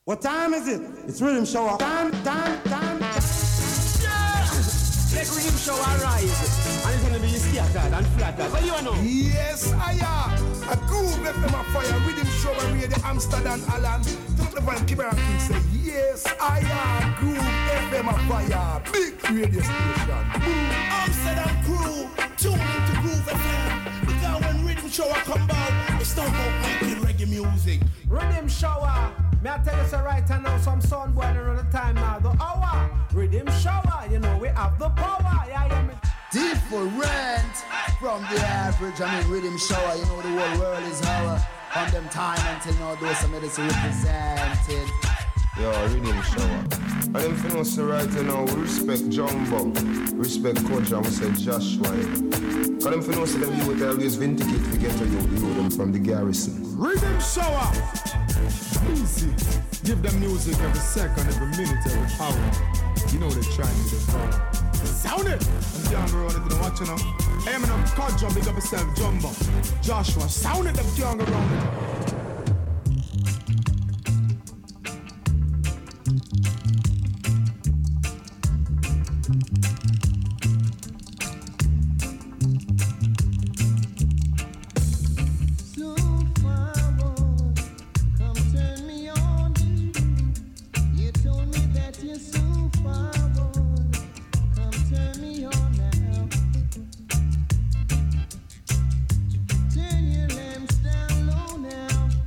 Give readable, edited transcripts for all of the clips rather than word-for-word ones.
What time is it? It's Rhythm Shower. Time. Let Rhythm Shower rise. And it's gonna be scattered and flattered. What do you know? Yes, I am. A groove FM a fire. Rhythm Shower radio Amsterdam Alan. Top the van keep around and say, yes, I am. Groove FM a fire. Big radio station. Amsterdam crew, tune into Groove FM. Because when Rhythm Shower come out, it's not about making reggae music. Rhythm Shower. May I tell you so right now, some sound boy another time now. The hour, Rhythm Shower, you know we have the power. Yeah. Different from the average. I mean Rhythm Shower, you know the whole world is our. On them time until now, those some medicine represented. Yo, Rhythm Shower. And them finna say right now, we respect Jumbo, respect Coach, and we say Joshua. Cause them finna say them you will always vindicate to get to you them from the garrison. Rhythm Shower. Easy. Give them music every second, every minute, every hour. You know they're trying to do it. Sound it! I'm young around it, don't watch it now. I am in a car jump, big up yourself, Jumbo. Joshua, sound it, I'm young around it. Turn your lamps down low now.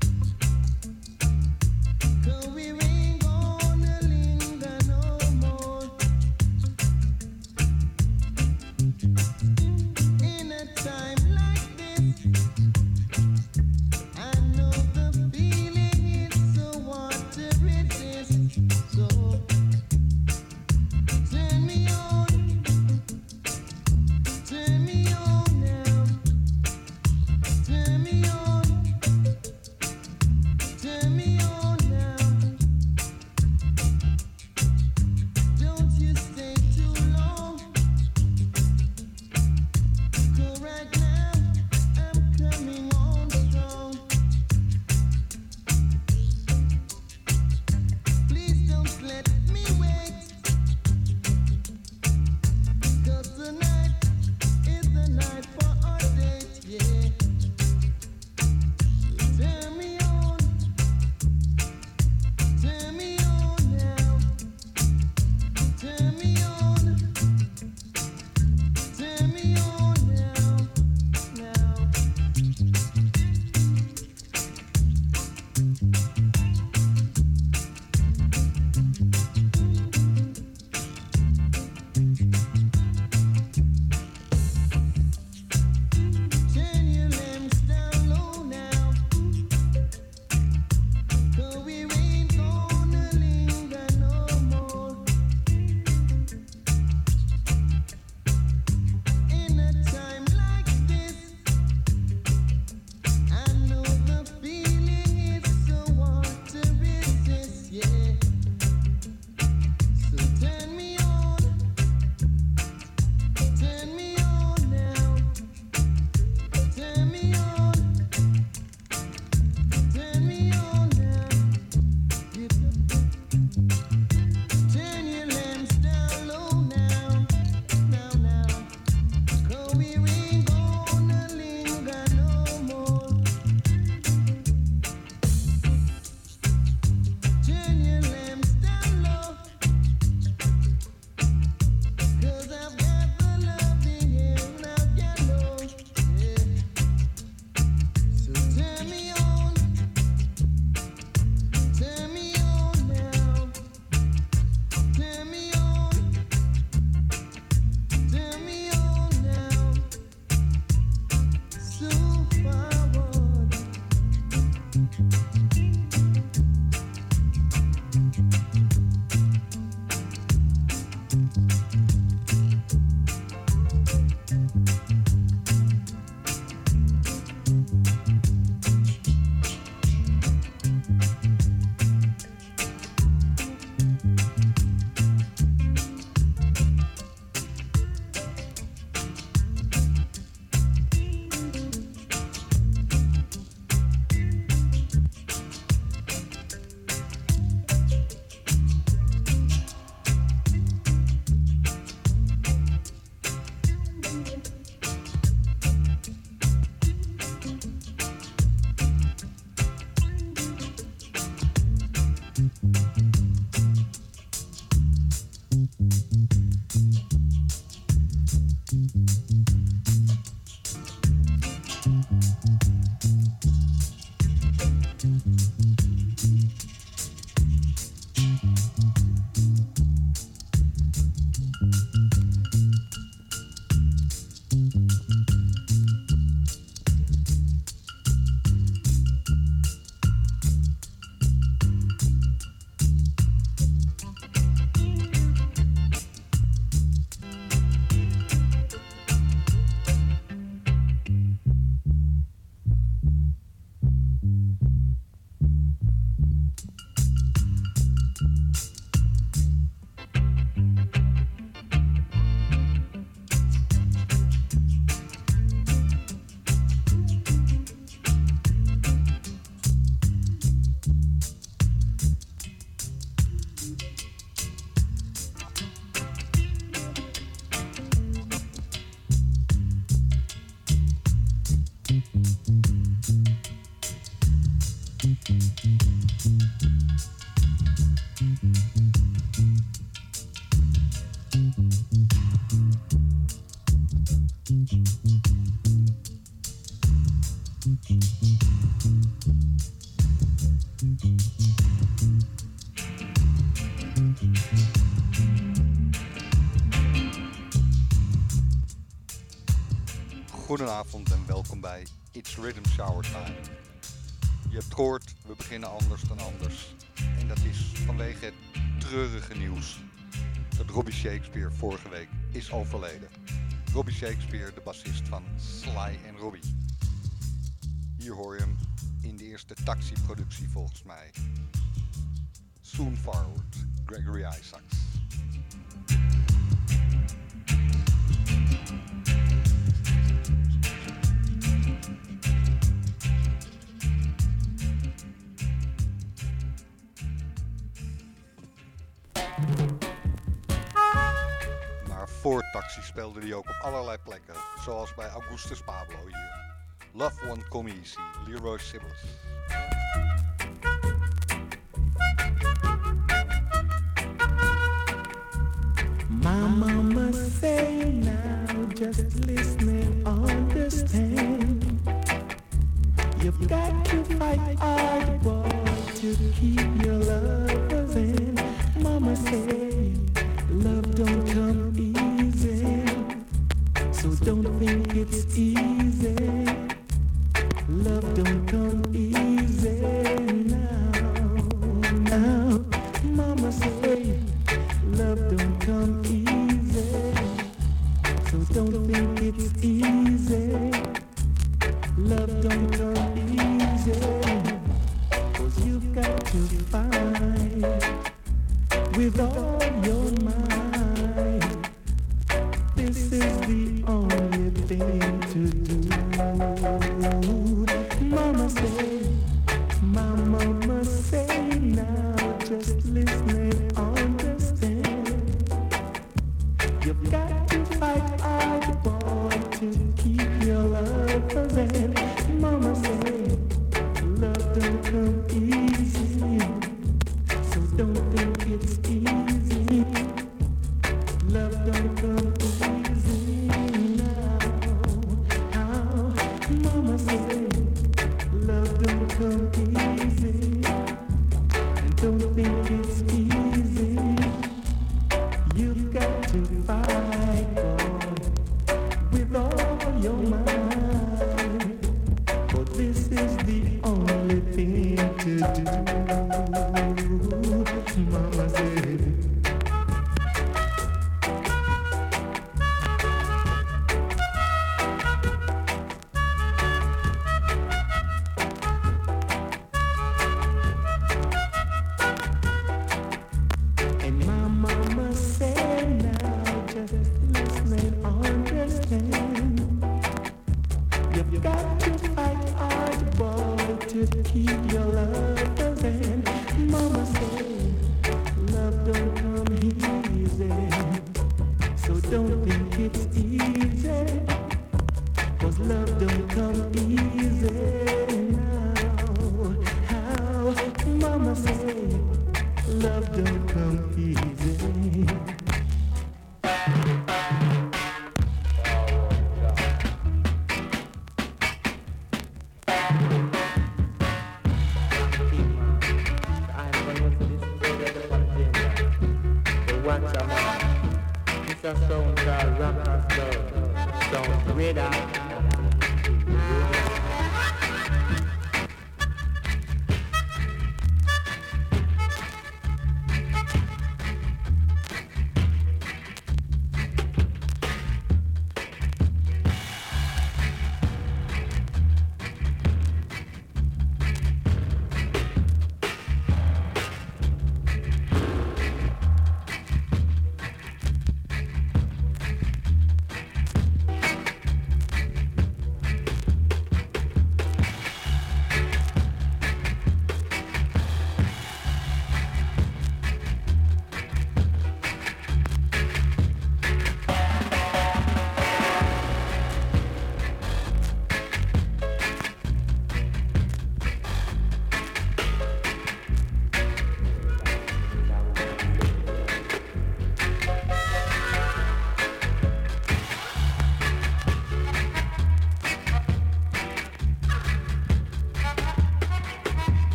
Goedenavond en welkom bij It's Rhythm Shower Time. Je hebt gehoord, we beginnen anders dan anders. En dat is vanwege het treurige nieuws dat Robbie Shakespeare vorige week is overleden. Robbie Shakespeare, de bassist van Sly and Robbie. Hier hoor je hem in de eerste Taxi-productie volgens mij. Soon Forward, Gregory Isaacs. Maar voor Taxi speelde hij ook op allerlei plekken, zoals bij Augustus Pablo hier. Love Won't Come Easy, Leroy Sibbles. My mama say now, just listen and understand. You've got to fight hard, boy, to keep your lovers in. Mama say, love don't come easy, so don't think it's easy. Love don't come easy now. Mama say, love don't come easy, so don't think it's easy. Love don't come easy, 'cause you've got to fight with all your might. This is the only thing to do. Mama say now, just listen and understand. You've got to fight hard, boy, to keep your lovers in. Mama say, love don't come easy, so don't think it's easy. Love don't come easy now. How? Mama say, love don't come easy, and don't think it's easy. You've got to fight, boy, with all your might, for this is the only thing to do. Mama said.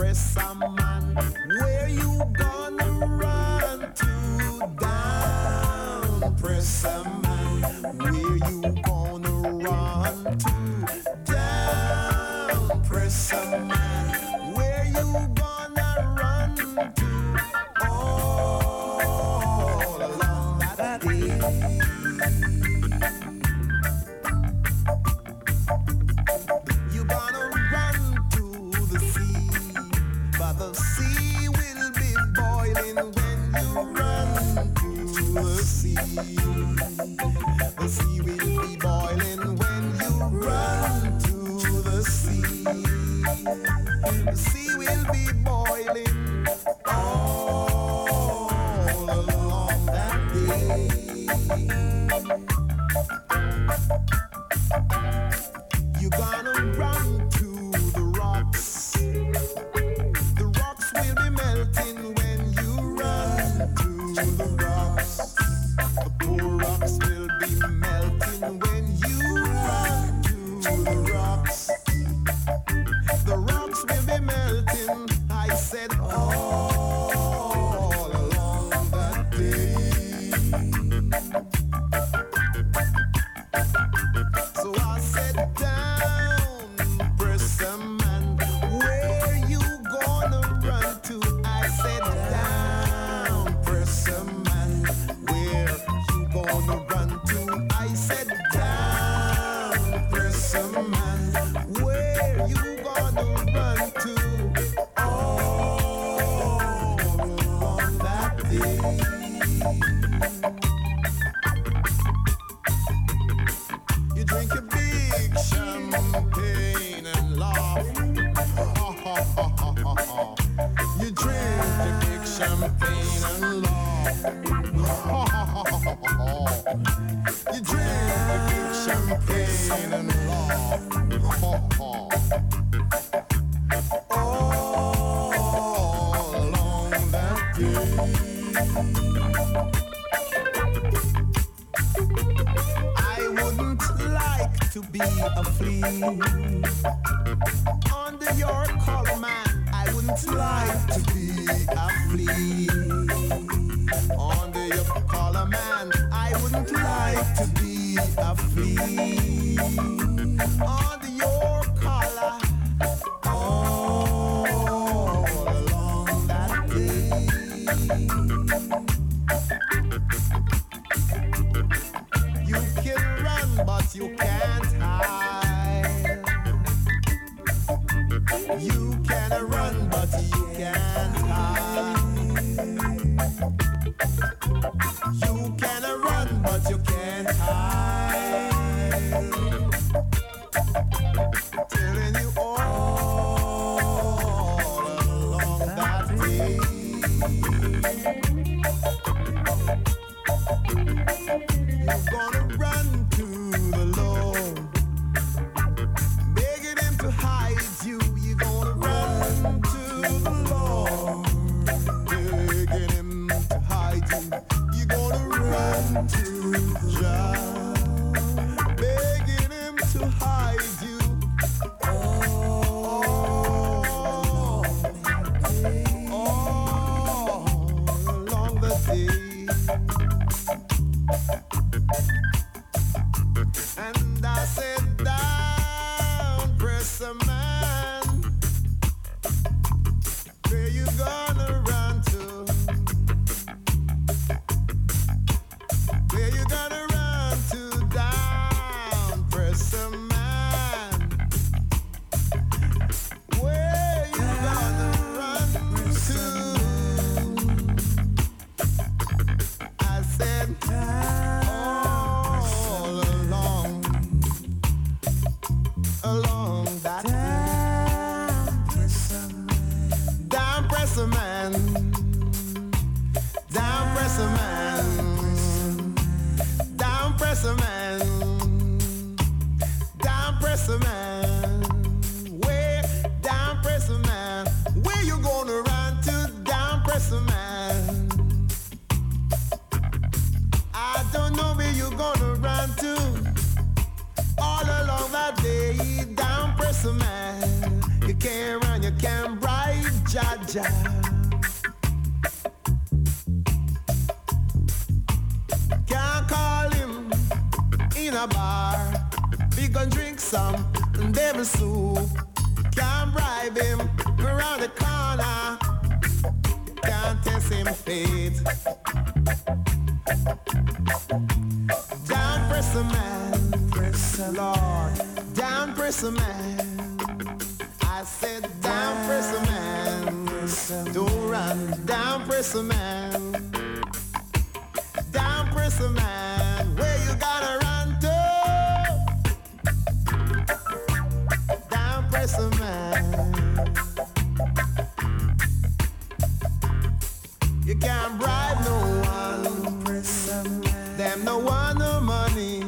press a man. Where you gonna run to? Down, press a man. Where you gonna run to? Down, press a man. Where you gonna run to? All along that day. You gonna run to the sea, but the sea will be boiling when you run to the sea. The sea will be boiling when you run to the sea. The sea will be boiling all along that day. You're gonna run to the rocks. The rocks will be melting when you run to the rocks. The poor rocks will be melting when you run to the rocks. The rocks will be melting, I said, all along that day. So I said, down, press a man. Where you gonna run to? I said, down, press a man. Where you gonna run to? I said, down, press a man. Where you gonna run to? All along that day. You drink a big champagne and laugh. You drink a big champagne and laugh. You drink a big champagne and laugh. All along that day. I wouldn't like to be a flea under your collar, man. I wouldn't like to be a flea under your collar, man. I wouldn't like to be a flea under your collar. All along that day. You can run, but you can't hide. You can run, but you can't hide. You can run, but you can't hide. Telling you all along that day. You're gonna run to the Lord, begging him to hide you. You're gonna run to the Lord, begging him to hide you. You're gonna run to Jah, begging him to hide you. All along the day. And I said, down, press a man. Where you gonna run to? Where you gonna run to? Down, press a man. Where you gonna run to? I said, all along that down press a man, down press a man, down press a man, down press a man. Where down press a man? Where you gonna run to? Down press a man. I don't know where you gonna run to. All along that day, down press a man. You can't run, you you can bribe Jaja. Can't call him in a bar. We gon' drink some devil soup. Can't bribe him around the corner. Can't test him fate. Down press a man, press a Lord. Down press a man. I said down press a man. Don't run. Down press a man. Down press a man. Where you gotta run to? Down press a man. You can't bribe no one. Them no want no money.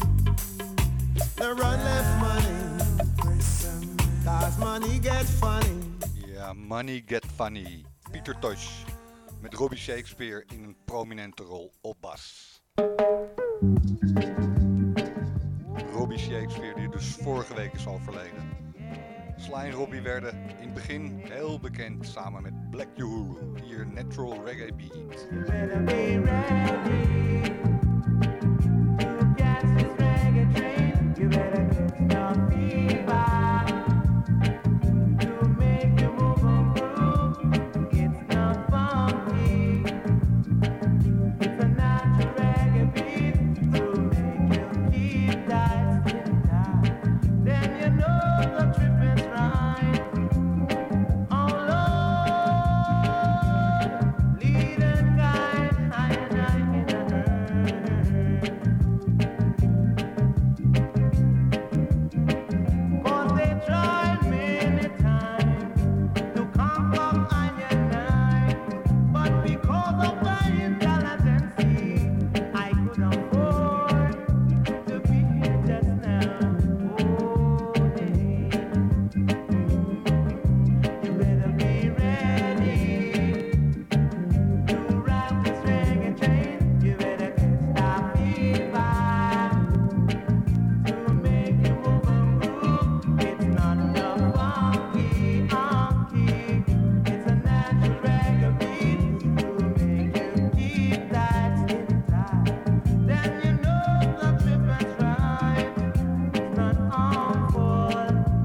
No run left money. Cause money get funny. Ja, Money Get Funny. Pieter Tosh met Robbie Shakespeare in een prominente rol op bas. Robbie Shakespeare die dus vorige week is overleden. Sly en Robbie werden in het begin heel bekend samen met Black Uhuru. Hier Natural Reggae Beat. You better be ready to catch this reggae train. You better get your feet back to make you move on through. It's not funky. It's a natural reggae beat to make you keep that skin tight. Then you know the trip is right. Oh Lord, lead and guide, I and I in a hurry. 'Cause they tried many times to conquer I and I, but because of my intelligence, I could afford to be here just now. Oh, yeah. You better be ready to ride this reggae train. You better catch that fever to make you move and groove. It's not no funky honky. It's a natural reggae beat to make you keep that skin tight. Then you know the trip is right. It's not harmful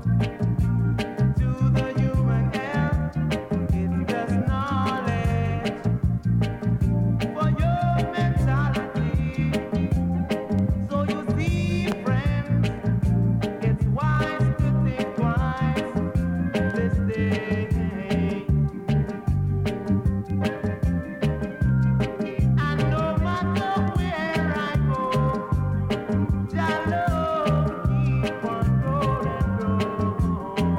to the human health. It's just knowledge for your mentality. So you see, friends, it's wise to think twice this day. And no matter where I go, Jah love keep on rolling.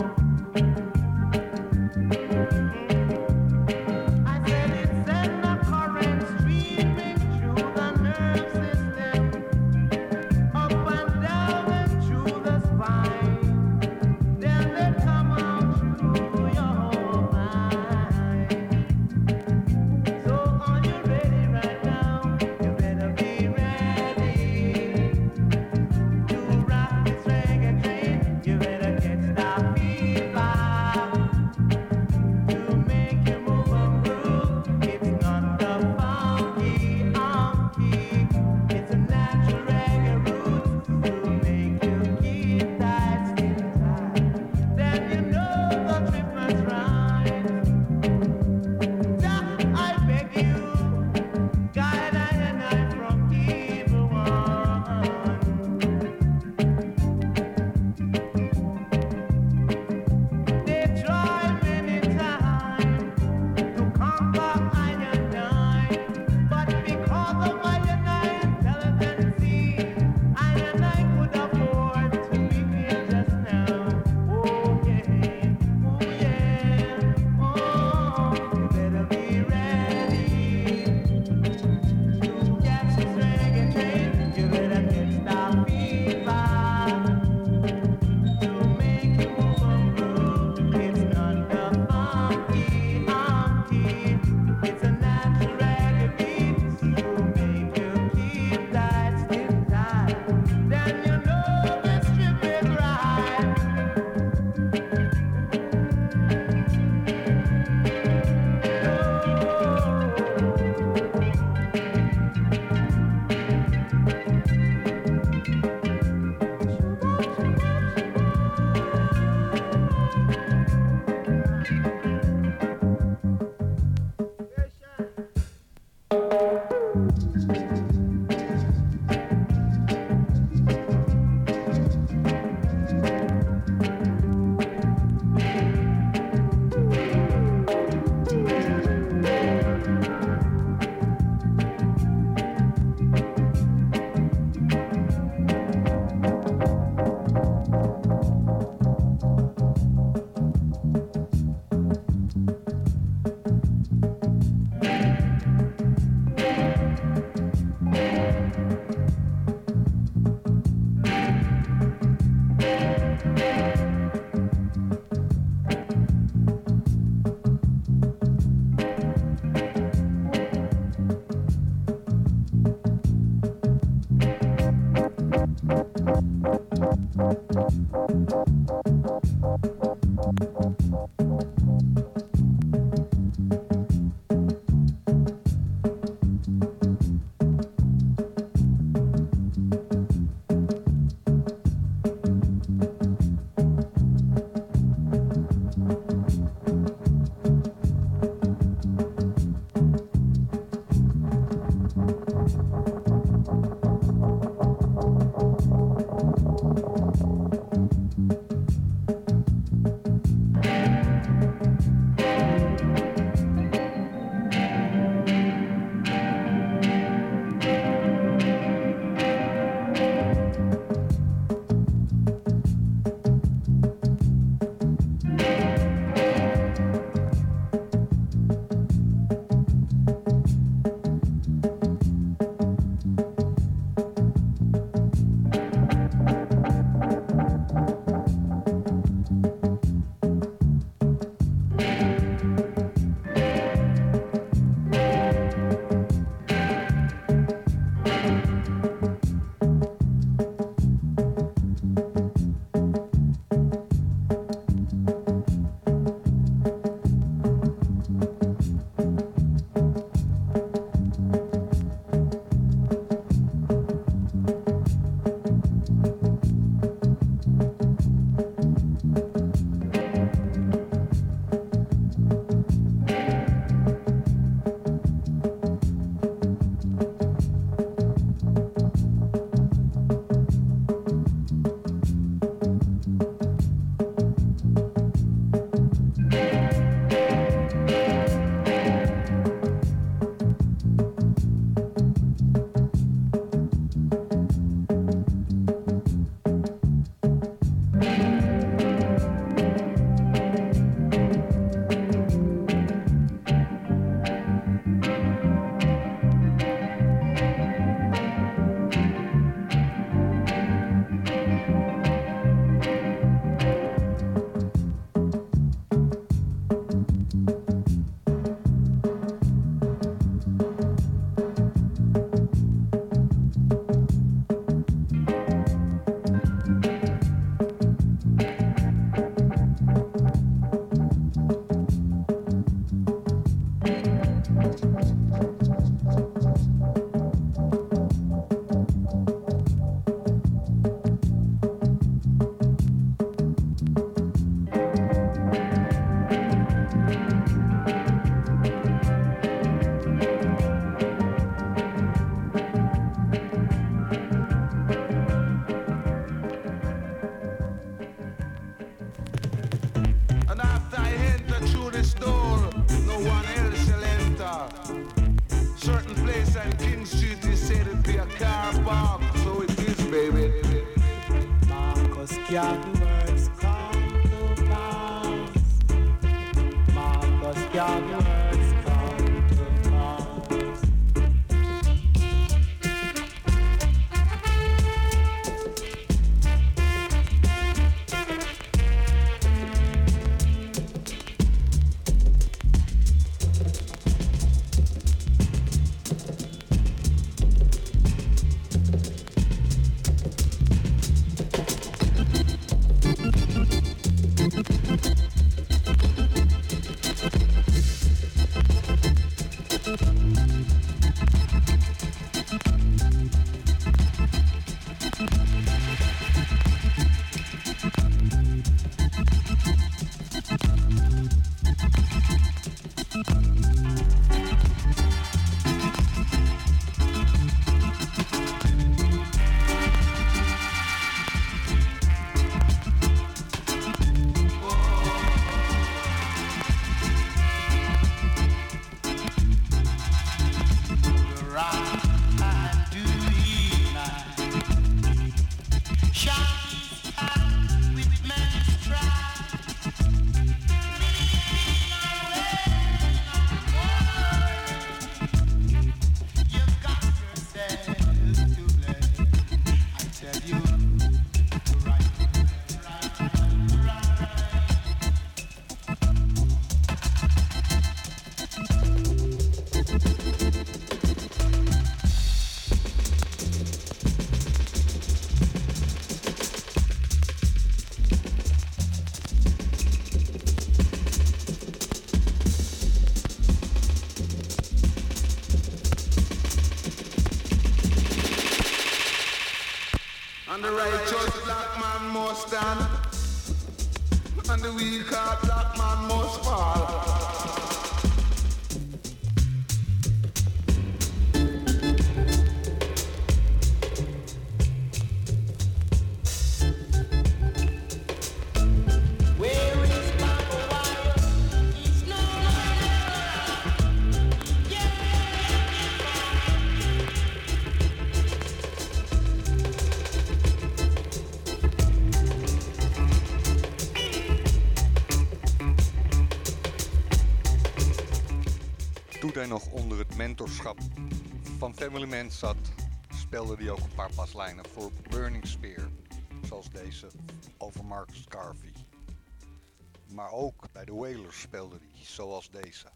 I said it's in the current streaming through the nerve system, up and down and through the spine. Then they come out through your mind. So are you ready right now? You better be ready to rock this reggae train. You better catch that fever to make you move and groove. It's not the funky honky. It's a natural reggae roots to make you keep that skin tight. Then you know the trip is right. Jah, I beg you, guide I and I from evil one. They tried many times to conquer I and I, but because of I and I intelligence, I and I could afford to be here just now. Oh yeah, oh yeah. your words come to pass. And the righteous black man must stand, and the weak heart black man must fall. Toen hij nog onder het mentorschap van Family Man zat, speelde hij ook een paar baslijnen voor Burning Spear, zoals deze over Marcus Garvey. Maar ook bij de Wailers speelde hij, zoals deze.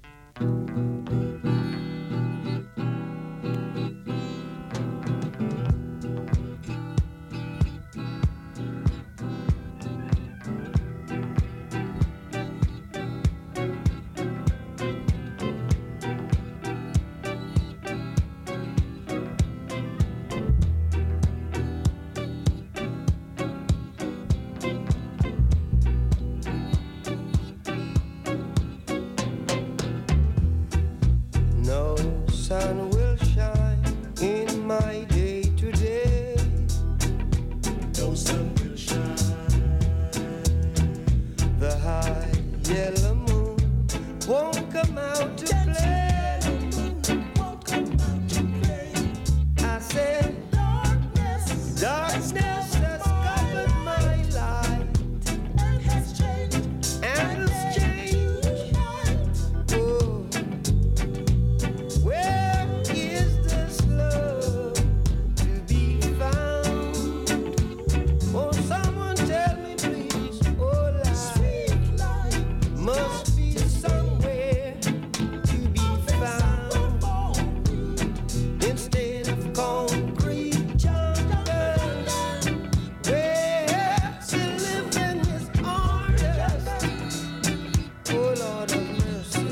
Sun will shine in my day today. No sun will shine. The high yellow moon won't come out to play. Won't come out to play. I said darkness has covered my light and has changed. Oh. Where is this love to be found? Oh, someone tell me please. Oh, life must be somewhere to be found. Instead of concrete jungles, where to live in is honest. Oh, Lord of mercy.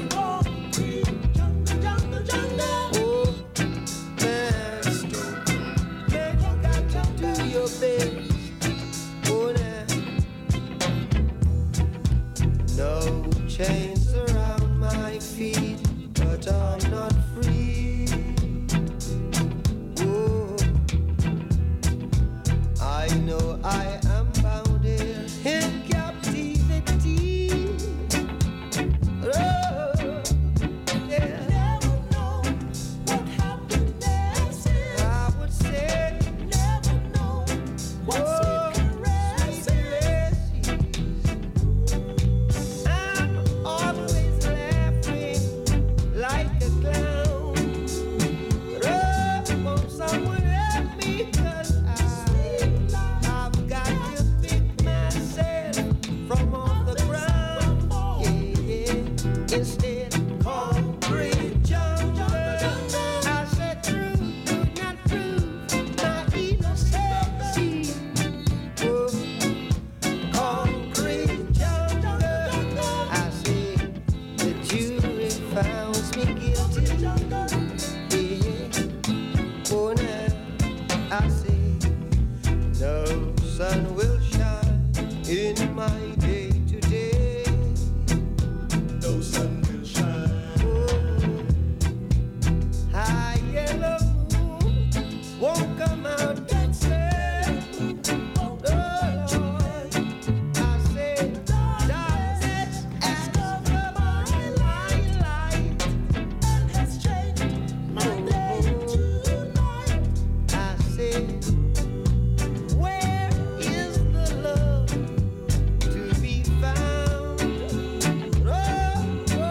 No chains around my feet, but I'm not free. Oh, I know I am bound here in captivity. Oh, yeah. Never know what happiness is. I would say never know what sweet caress is. I'm always glad. instead concrete jungle. I said truth could not prove my innocency. Oh, concrete jungle. I said the jury found me guilty. Yeah. Oh, now I say no sun will shine in my day today. No sun will shine. Oh, high yellow moon won't come out dancing. Oh, Lord, I say darkness has covered my light and has changed my day tonight. I say, where is the love to be found? Oh,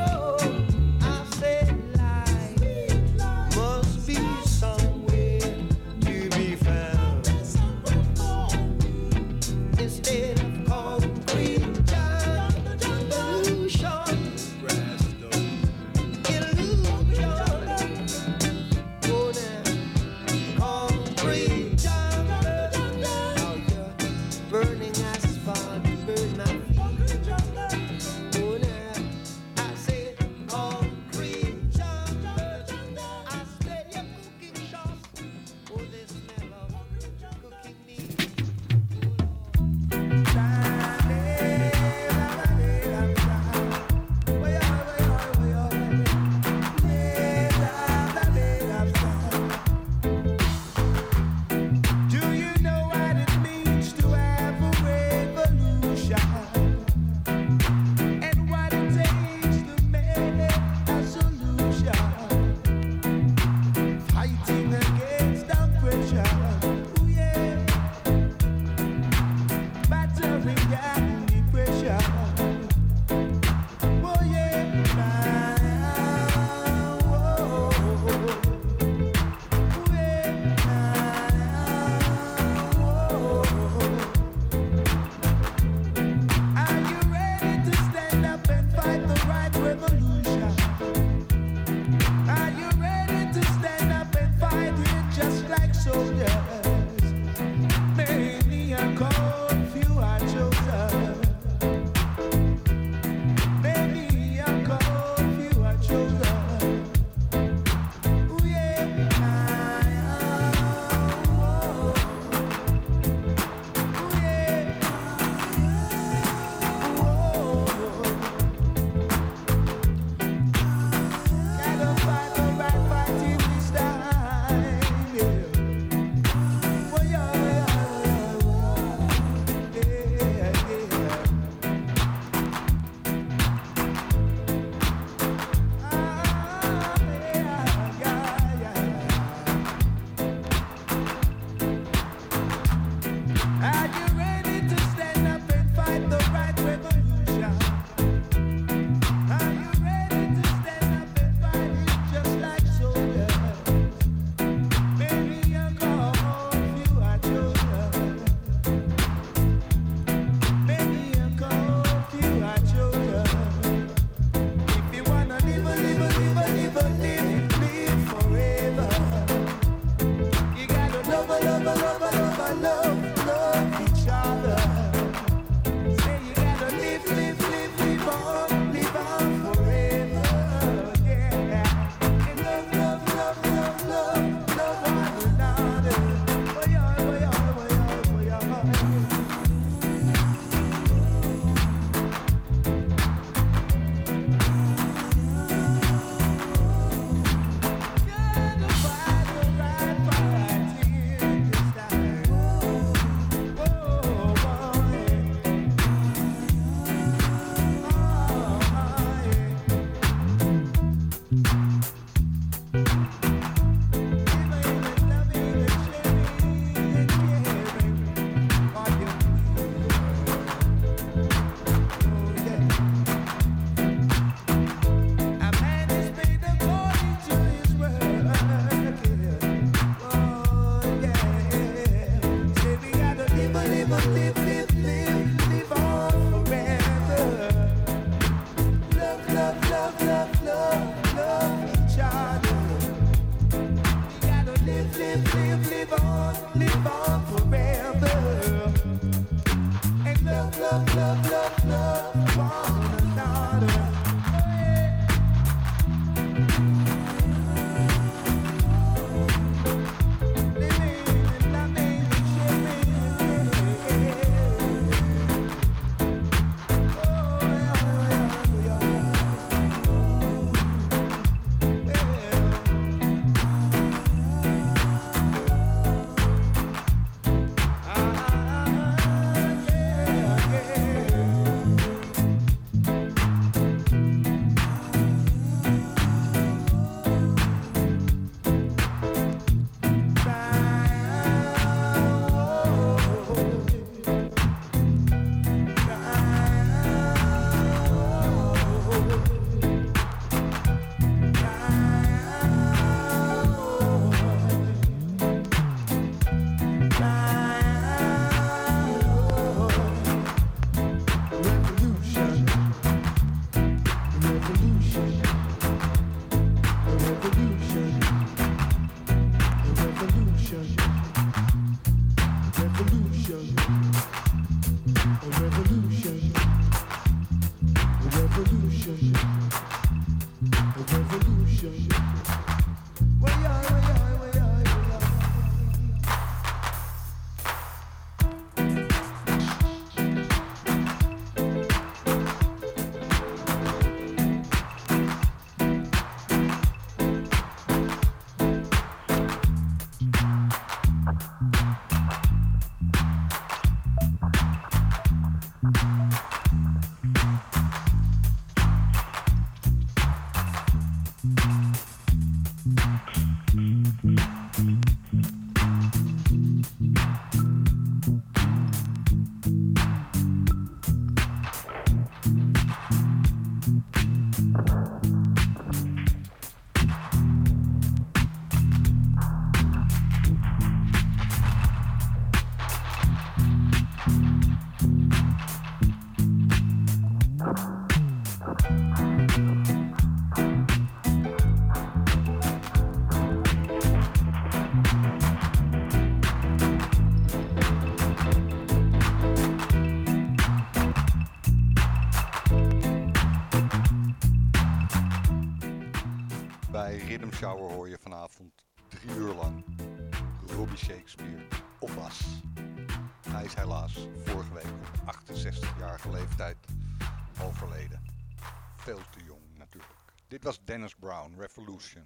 Rhythm Shower hoor je vanavond 3 uur lang Robbie Shakespeare op bas. Hij is helaas vorige week op 68-jarige leeftijd overleden. Veel te jong natuurlijk. Dit was Dennis Brown, Revolution.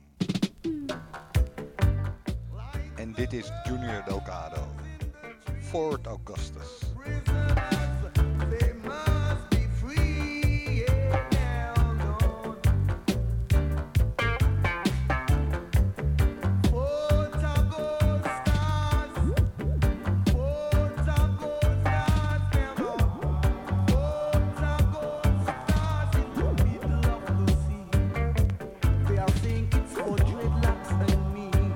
En dit is Junior Delgado, Fort Augustus.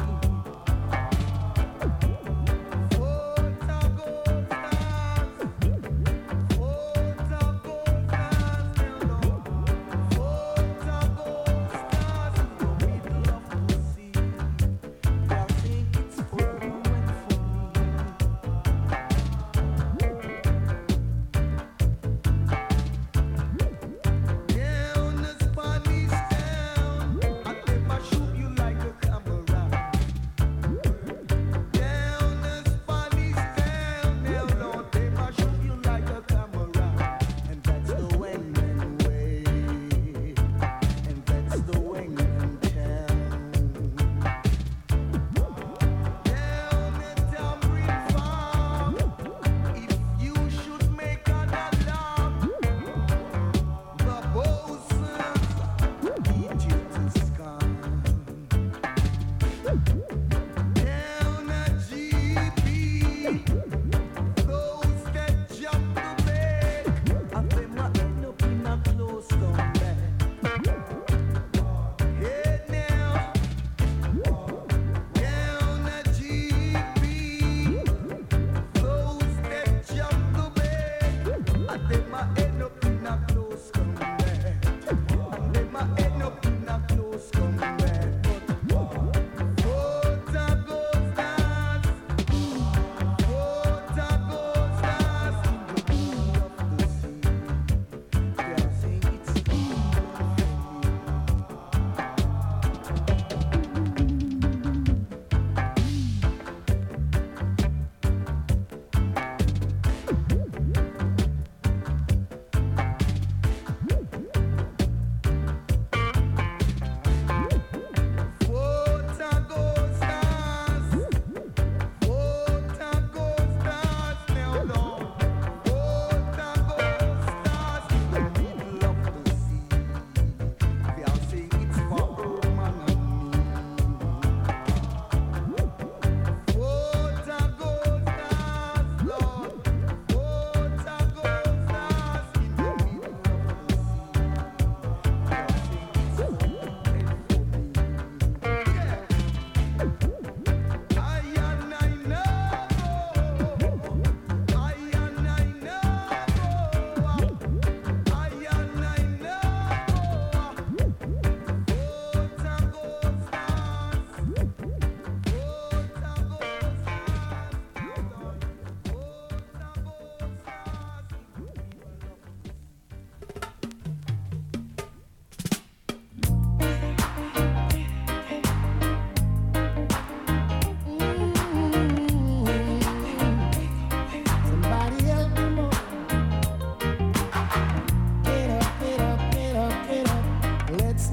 Dreadlocks and me.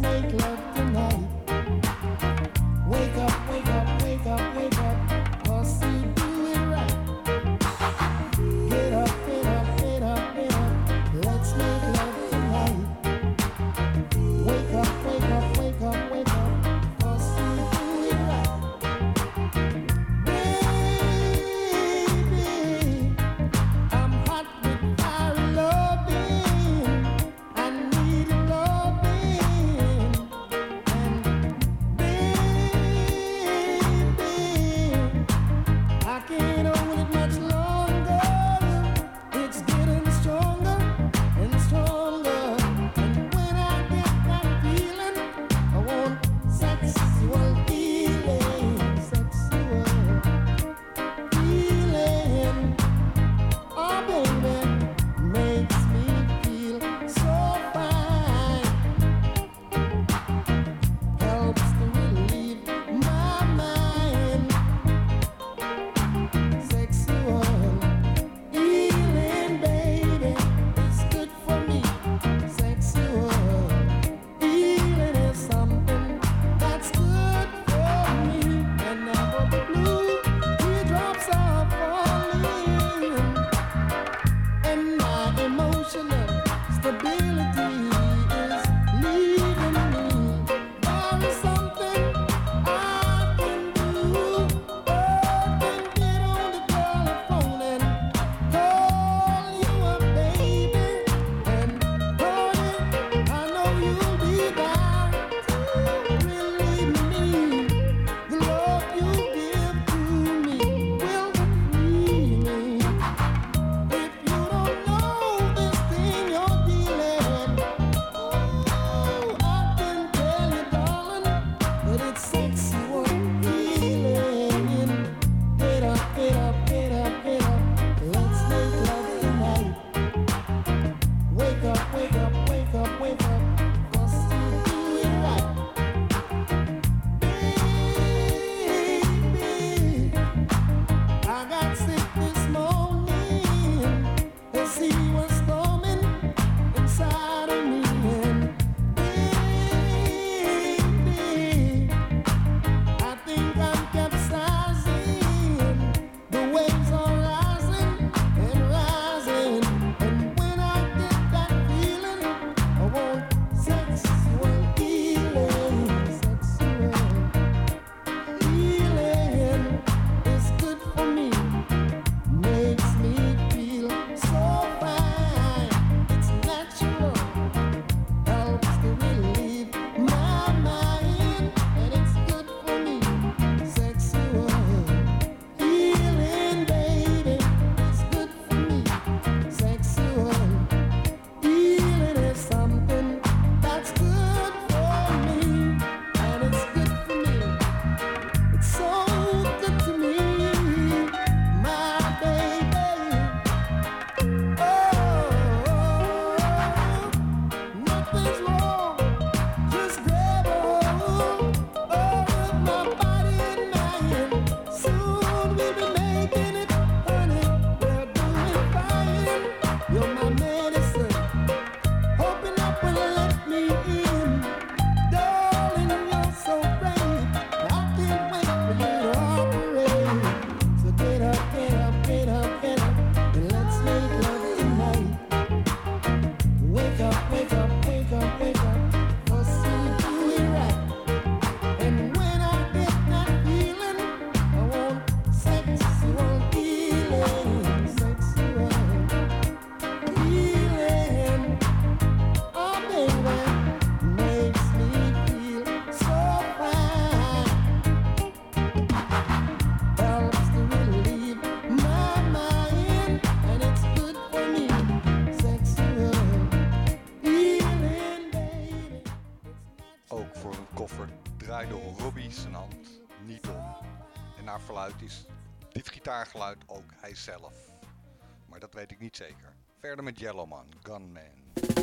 make love tonight. Wake up, wake up, wake up, wake up, 'cause you do it right. Get up, get up, get up, get up, let's make love tonight. Wake up, wake up, wake up, wake up, 'cause you do it right. Baby, I'm hot with our loving. I need loving. And baby, I can't hold it much longer. It's getting stronger and stronger. And when I get that feeling, I want sexual healing, sexual healing. Oh baby, makes me feel so fine. Helps to relieve my mind. Sexual healing, baby, is good for me. Sexual healing is something that's good for me. Whenever the blue teardrops are falling and my emotional stability is leaving me, there is something I can do. I can get on the telephone and call you a baby, and honey, I know you'll be there to relieve me. The love you give to me will free me. If you don't know this thing you're dealing, oh, I can tell you, darling, that it's sexual healing. Get up, get up, get up, get up, let's make love tonight. Wake up, wake up, wake up, wake up, 'cause you do it right. Baby, I got sick this morning. The sea was storming inside of me, and baby, I think I'm capsizing. The waves are rising and rising, and when I get that feeling, I want sexual healing. Sexual healing is good for me. Makes me feel so fine. It's natural, helps to relieve my mind, and it's good for me. Sexual healing, baby, it's good for me. Sexual healing is something that's good for me, and it's good for me. It's so good to me, my baby. Oh, nothing's wrong. Just grab a hold of my body and mind. Soon we'll be making it, honey. We're doing fine. You're my medicine. Open up and let me in. Darling, you're so brave. I can't wait for you to operate. So get up, get up, get up, get up, and let's make love tonight. Wake up, wake up, wake up, wake up, 'cause you do it right. And when I get that feeling, I want sexual healing, sexual healing. Oh baby, makes me feel so fine. Helps to relieve my mind, and it's good for me. Sexual healing, baby. Ook voor een koffer draaide Robbie zijn hand niet om. En naar verluid is dit gitaargeluid ook hij zelf. Maar dat weet ik niet zeker. Verder met Yellowman, Gunman.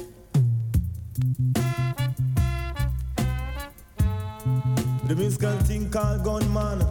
The musical thing called Gunman.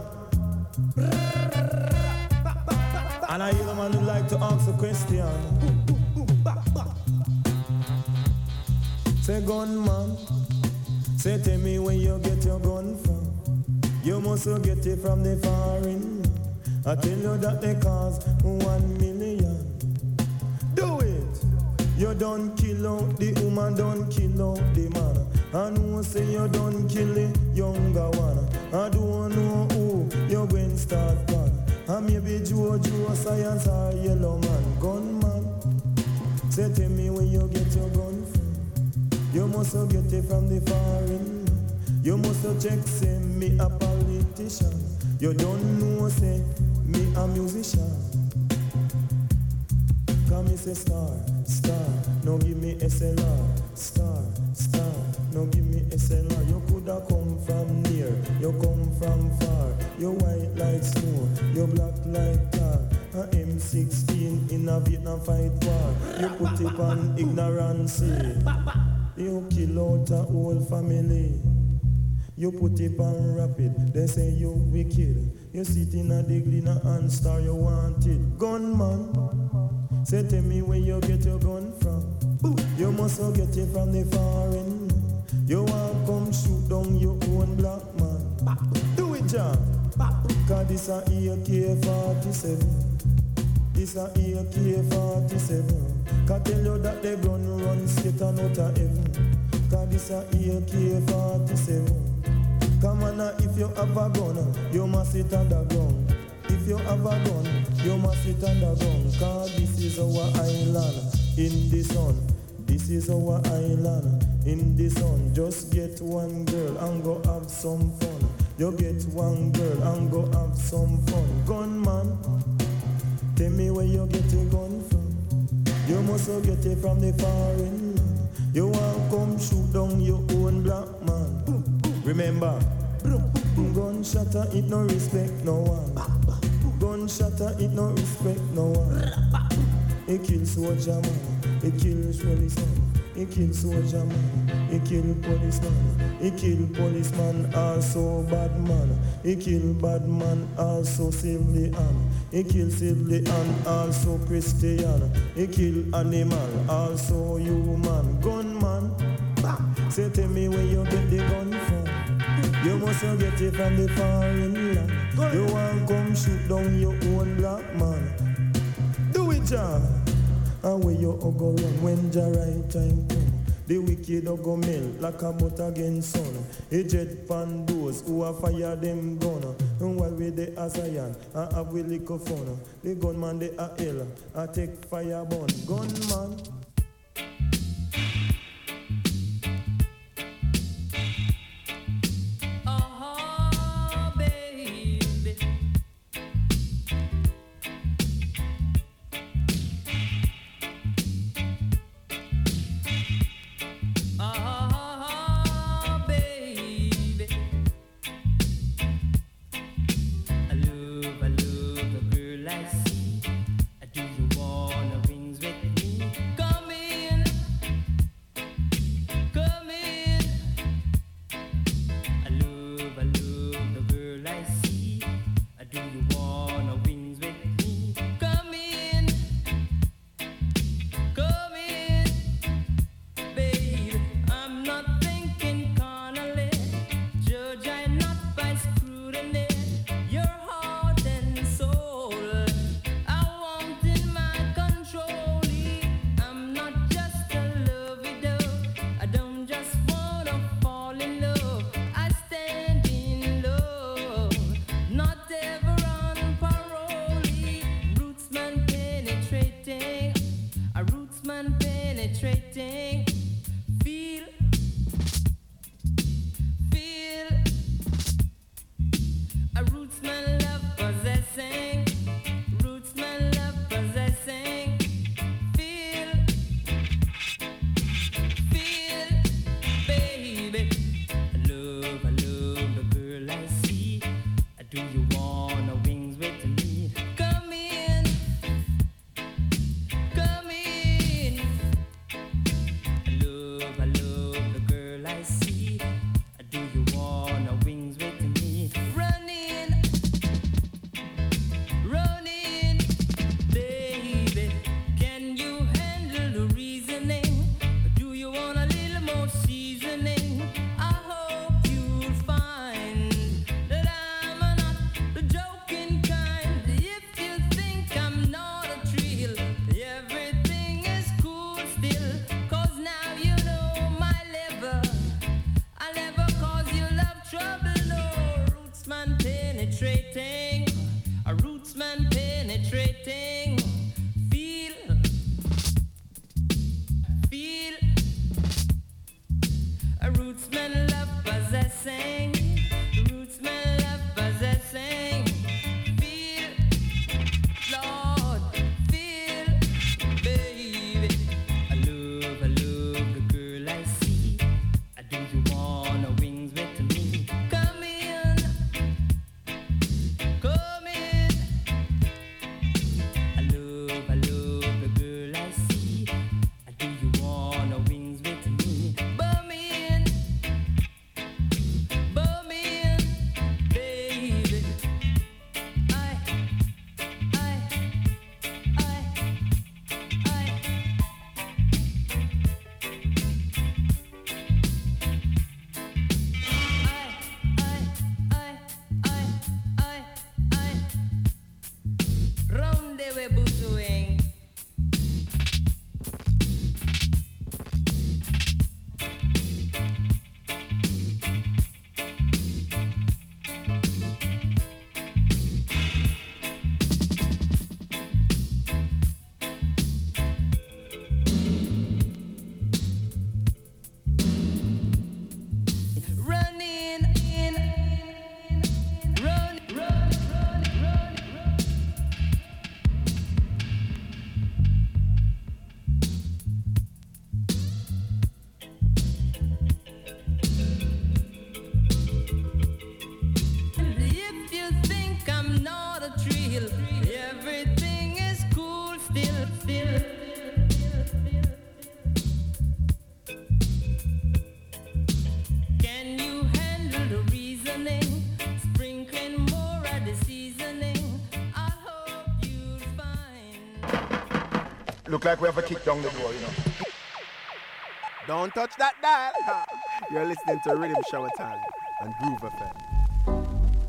And I hear a man who like to ask a question. Say gunman, Say tell me where you get your gun from. You must get it from the foreign. I tell you that they cost 1 million. Do it. You don't kill out the woman, don't kill out the man. I know say you don't kill the younger one. I don't know who you going start pan. I maybe Jojo Science or Yellow Man, gunman. Say tell me where you get your gun from. You must get it from the foreign. You must check say me a politician. You don't know say me a musician. Come me say star, no give me SLR. Star, no give me SLR. You coulda come from near, you come from far. You white like snow, you black like tar. A M16 in a Vietnam fight war. You put it on ignorance. You kill out a whole family. You put it on rapid, they say you wicked. You sit in a the glina and star you wanted. Gunman, say tell me where you get your gun from. You must get it from the foreign. You want come shoot down your own black man. Do it, John. Cause this a AK-47. This a AK-47. Cause tell you that the gun run straight and out of heaven. Cause this a AK-47. Come on now, if you have a gun, you must sit on the ground. If you have a gun, you must sit on the ground. Cause this is our island in the sun. This is our island in the sun. Just get one girl and go have some fun. You get one girl and go have some fun. Gunman, tell me where you get your gun from. You must get it from the foreign land. You want come shoot down your own black man. Remember, gunshot it no respect no one. Gunshot it no respect no one. He kill soldier man, he kill policeman. He kill soldier man, he kill policeman. He kill policeman, also bad man. He kill bad man, also civilian. He kill civilian, also Christian. He kill animal, also human. Gunman, say tell me where you get the gun from. You must get it from the foreign land. You want come shoot down your own black man. Do it, John. And where you go run when the right time come. The wicked go melt like a butter against sun. A jet pan those who a fire them gun. And while we the Zion, I have we lick of fun. The gunman they a hell, I take fire burn. Gunman. Come Rootsmen love possessing. Rootsmen love possessing. Feel, Lord, feel, baby. I love the girl I see. Do you wanna wings with me? Come in, come in. I love the girl I see. Do you wanna wings with me? Bum in, baby. Round the way booting. Running in, run. If you think I'm not a thrill, everything is cool still. Can you handle the reasoning? Sprinkling more of the seasoning. I hope you'll find. Look like we have a kick down the door, you know. Don't touch that dial. You're listening to Rhythm Shower Time and Groove FM.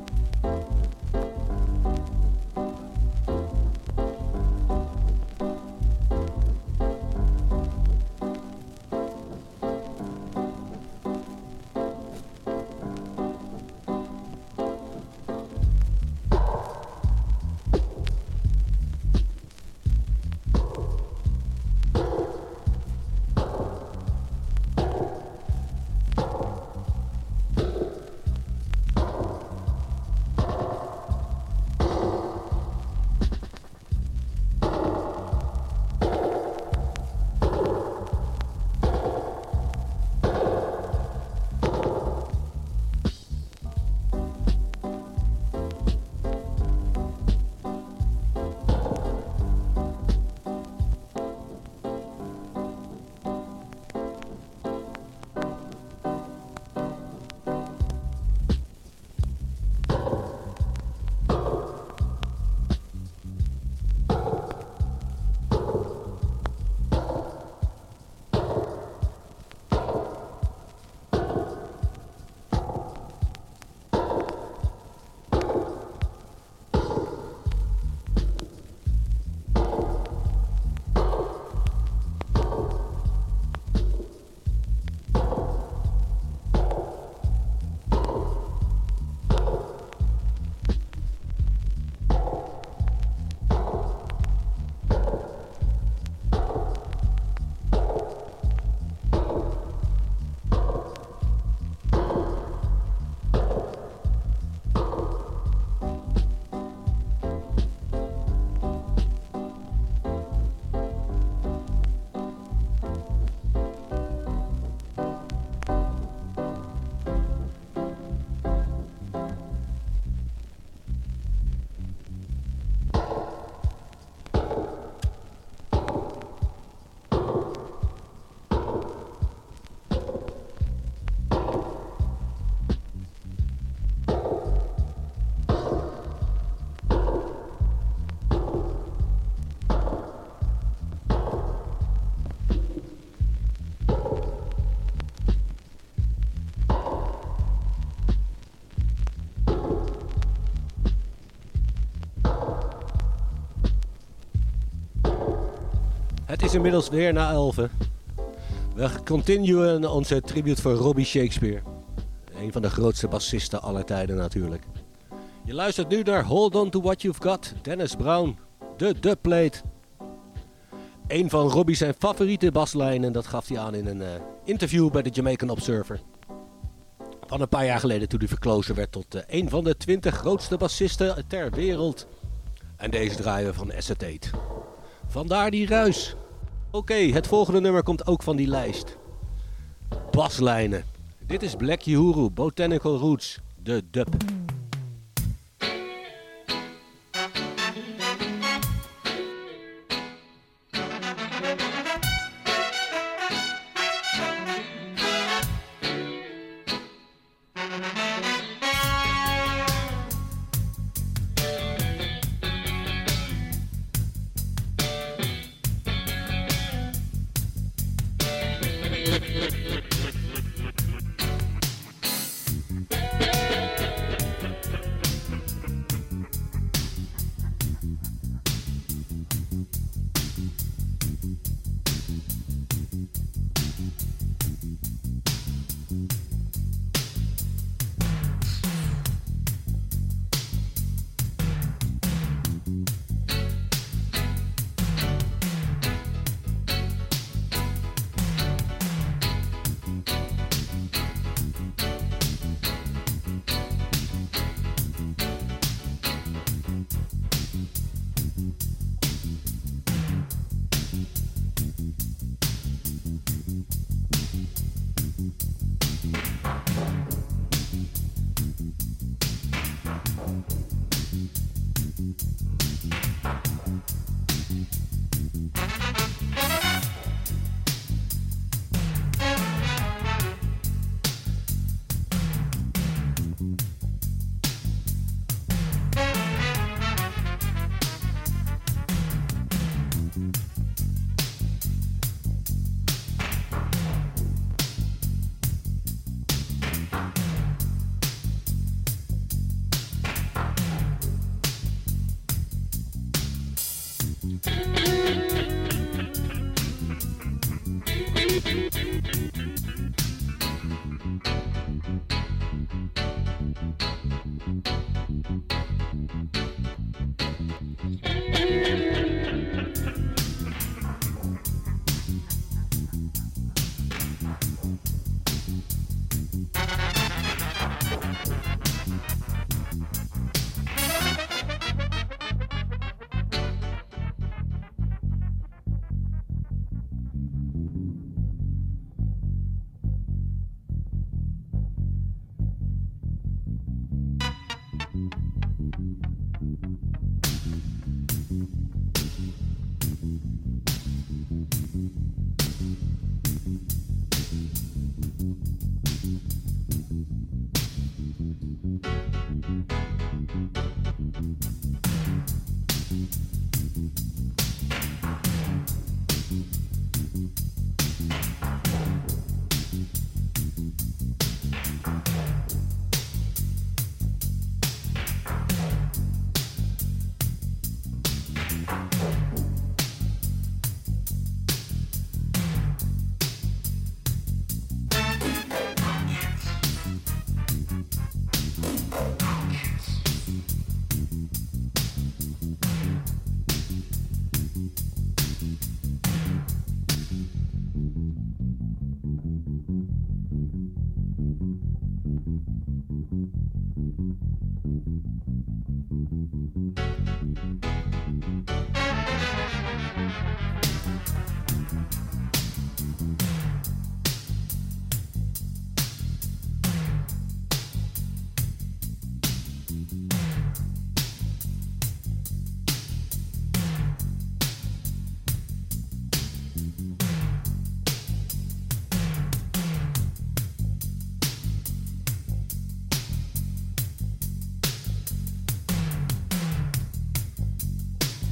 Het is inmiddels weer na 11. We continuen onze tribute voor Robbie Shakespeare. Een van de grootste bassisten aller tijden natuurlijk. Je luistert nu naar Hold On To What You've Got, Dennis Brown, de dubplate. Een van Robbie zijn favoriete baslijnen, dat gaf hij aan in een interview bij de Jamaican Observer. Van een paar jaar geleden toen hij verkozen werd tot een van de 20 grootste bassisten ter wereld. En deze draaien we van Acetate. Vandaar die ruis. Oké, het volgende nummer komt ook van die lijst. Baslijnen. Dit is Black Uhuru, Botanical Roots, de dub.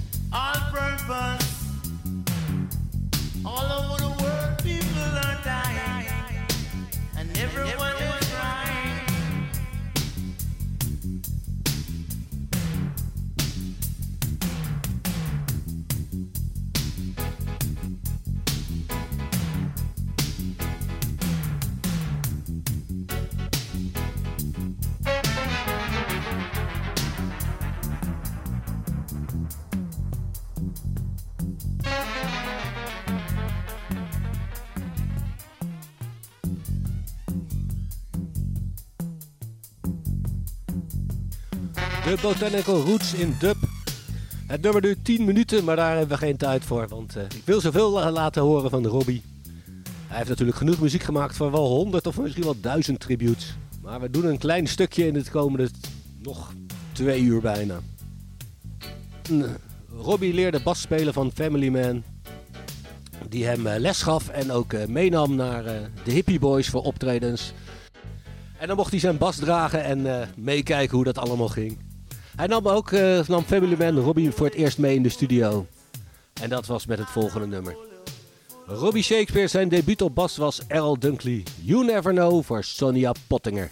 All over the world, people are dying. De Botanical Roots in dub. Het nummer duurt 10 minuten, maar daar hebben we geen tijd voor. Want ik wil zoveel laten horen van Robbie. Hij heeft natuurlijk genoeg muziek gemaakt voor wel 100 of misschien wel 1000 tributes. Maar we doen een klein stukje in het komende nog 2 uur bijna. Robbie leerde bas spelen van Family Man. Die hem les gaf en ook meenam naar de Hippie Boys voor optredens. En dan mocht hij zijn bas dragen en meekijken hoe dat allemaal ging. Hij nam Family Man Robbie voor het eerst mee in de studio. En dat was met het volgende nummer. Robbie Shakespeare, zijn debuut op bas was Errol Dunkley. You Never Know voor Sonia Pottinger.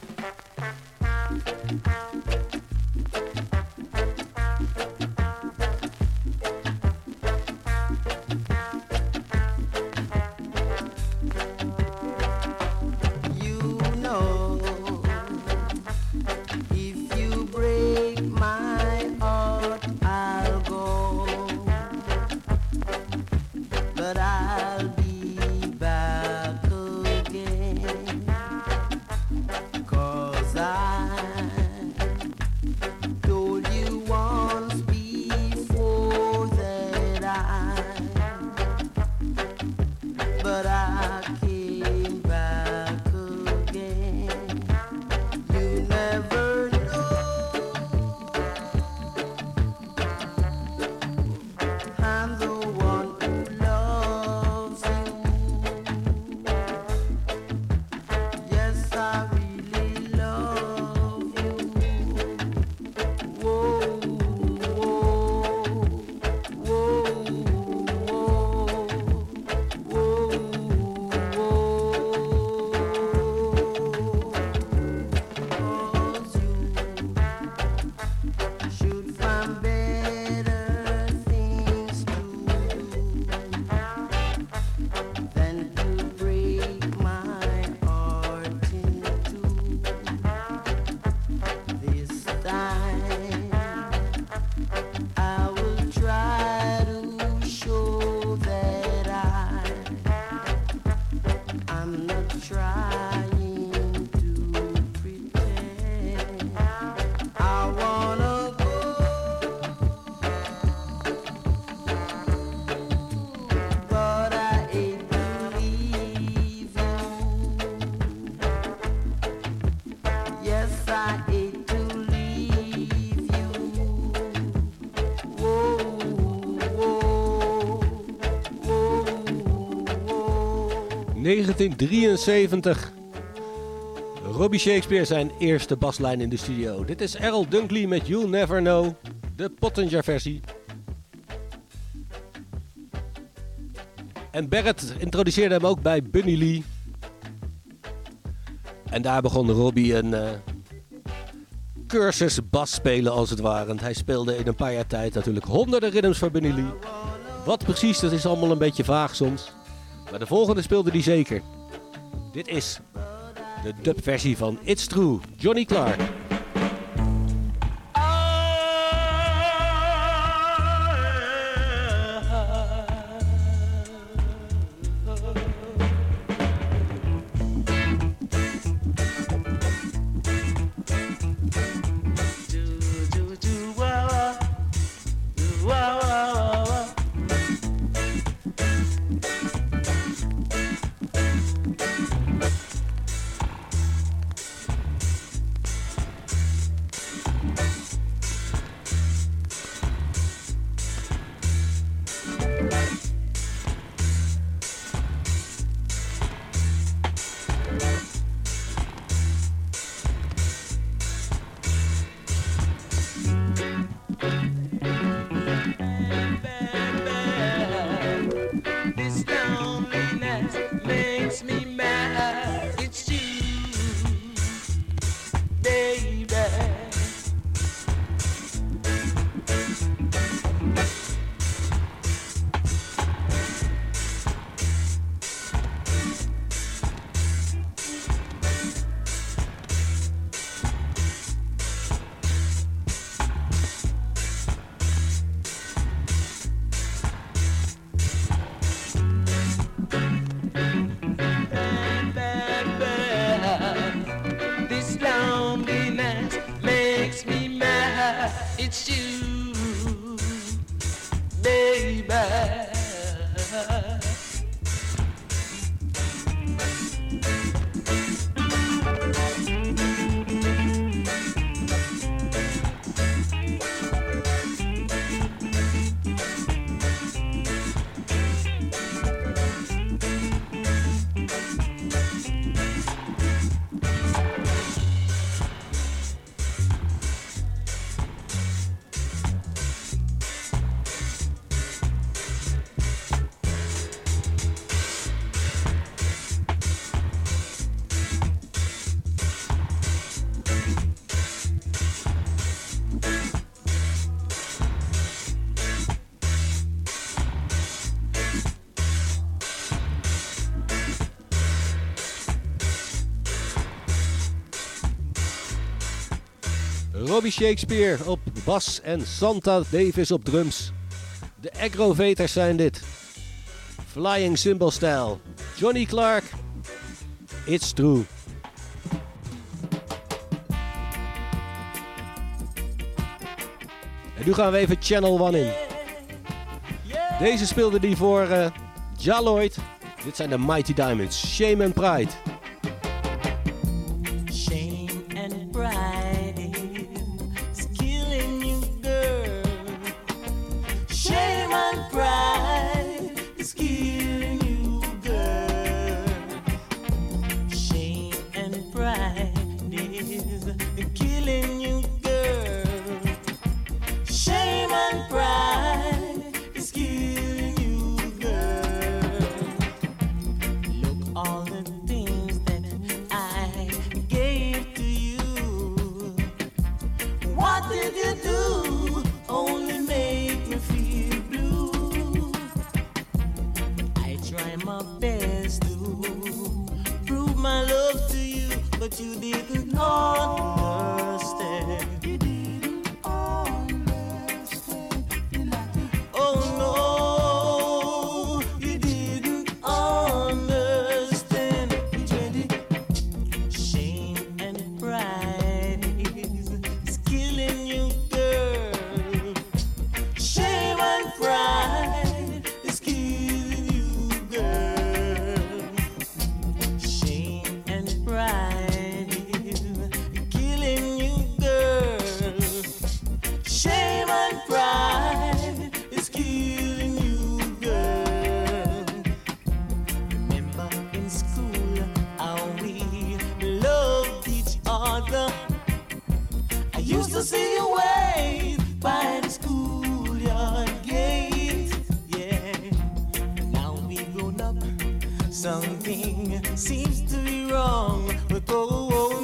...1973. Robbie Shakespeare zijn eerste baslijn in de studio. Dit is Errol Dunkley met You'll Never Know, de Pottinger versie. En Barrett introduceerde hem ook bij Bunny Lee. En daar begon Robbie een cursus bas spelen als het ware. Want hij speelde in een paar jaar tijd natuurlijk honderden rhythms voor Bunny Lee. Wat precies, dat is allemaal een beetje vaag soms. Maar de volgende speelde hij zeker. Dit is de dubversie van It's True, Johnny Clark. Robbie Shakespeare op bas en Santa Davis op drums. De Aggrovators zijn dit. Flying Cymbal Style. Johnny Clark. It's True. En nu gaan we even Channel One in. Deze speelde die voor Ja Lloyd. Dit zijn de Mighty Diamonds. Shame and Pride. Shame and pride is killing you, girl. Shame and pride is killing you, girl. Shame and pride is killing you, girl. Shame and pride is killing you, girl. Look all the things that I gave to you. What did you do? Only make me feel blue. I try my best to prove my love to you, but you didn't understand. You didn't understand. Oh no, you didn't understand. Shame and pride is killing you, girl. Shame and pride is killing you, girl. Shame and pride is killing you, girl. Shame and pride is killing you, girl. Remember in school how we loved each other. I used to see you wave by the schoolyard gate, yeah. Now we grown up, something seems to be wrong. But oh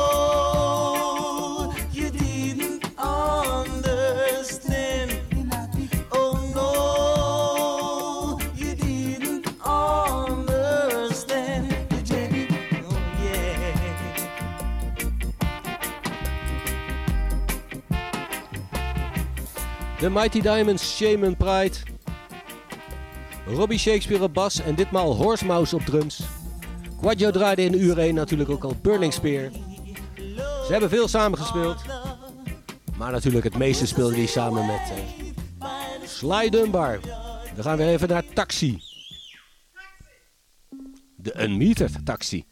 no, you didn't understand. Oh no, you didn't understand. Oh yeah. De Mighty Diamonds, Shame and Pride. Robbie Shakespeare op bas en ditmaal Horsemouse op drums. Quadjo draaide in uur 1 natuurlijk ook al Burning Spear. Ze hebben veel samengespeeld. Maar natuurlijk het meeste speelde hij samen met Sly Dunbar. We gaan weer even naar Taxi. De Unmetered Taxi.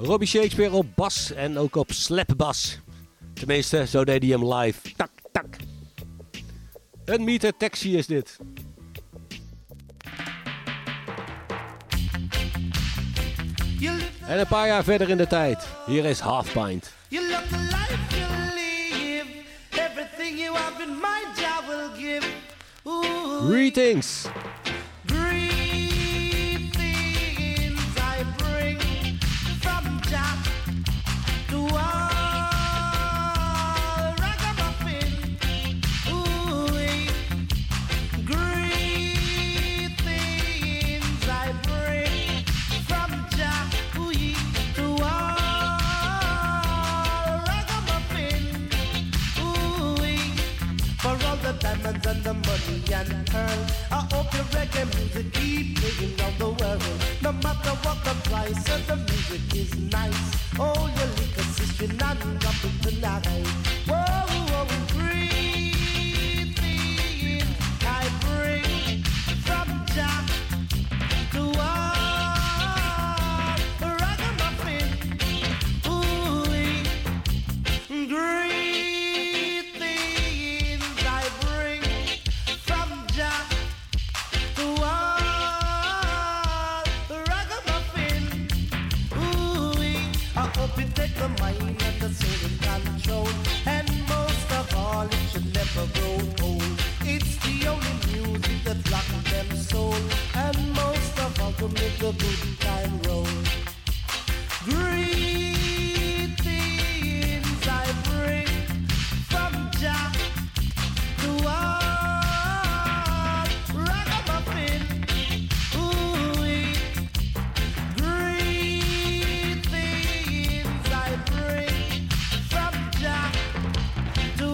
Robbie Shakespeare op bas en ook op slapbas. Tenminste, zo deed hij hem live. Tak, tak. Een meter taxi is dit. En een paar jaar verder in de tijd. Hier is Half Pint. You love the life you live. Everything you have in mind, I will give. Ooh. Greetings. Greetings I bring from Jah to all ragamuffin. Ooh. Greetings I bring from Jah to all ragamuffin. Ooh. For all the diamonds and the money and pearl, I hope your reggae music keep playing round the world. No matter what the price of the music is nice. Oh, your liquor system not dropping tonight. Whoa, whoa, greeting I bring from Jah to all ragamuffin. Ooh, greetings I bring from Jah to all ragamuffin. Ooh, I hope you take the mind and the soul in control, and most of all, it should never grow old. It's the only music that rocks them soul, and most of all, to make the good time roll. Greetings I bring from Jah to all ragamuffin. Ooh, greetings I bring from Jah to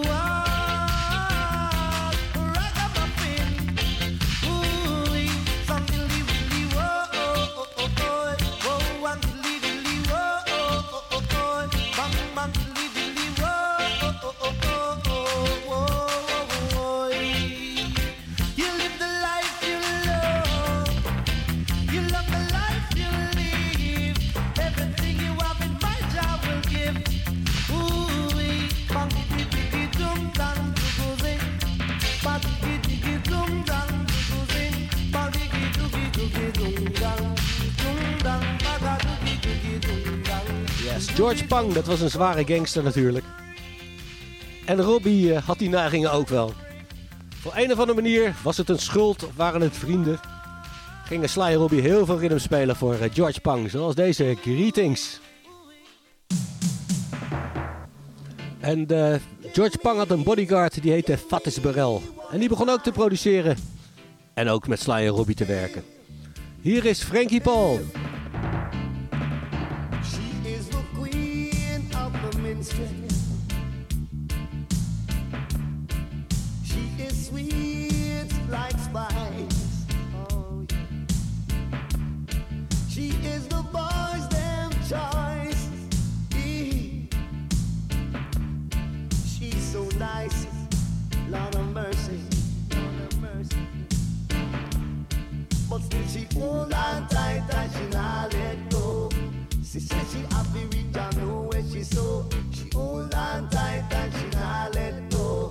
all ragamuffin. Ooh, some dilly willy whoa, whoa, and dilly dilly whoa, bang bang dilly dilly whoa. You live the life you love. You love the life you live. Everything you have in mind, I will give. Ooh, bang diggy diggy dum dum dum, bang diggy diggy dum dum dum, bang diggy diggy diggy dum dum dum, bang diggy diggy dum dum. Yes, George Pang, dat was een zware gangster natuurlijk. En Robbie had die neigingen ook wel. Voor een of andere manier was het een schuld of waren het vrienden. Gingen Sly en Robbie heel veel rhythm spelen voor George Pang, zoals deze Greetings. En George Pang had een bodyguard die heette Fatis Burrell. En die begon ook te produceren en ook met Sly en Robbie te werken. Hier is Frankie Paul. She is the queen of the minstrel. She is sweet like spice. Oh, yeah. She is the boys' them choice. She's so nice, Lord of mercy, Lord of mercy. But still she hold on tight and she not let go. She said she happy with her, know where she so. She hold on tight and she not let go.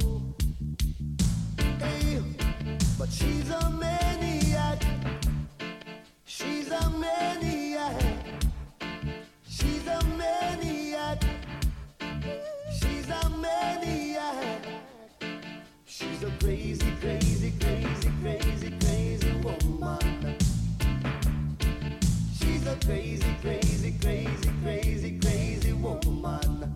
Hey, but she's a maniac. She's a maniac. She's a maniac. She's a maniac. She's a crazy, crazy, crazy, crazy, crazy woman. She's a crazy, crazy, crazy, crazy, crazy woman.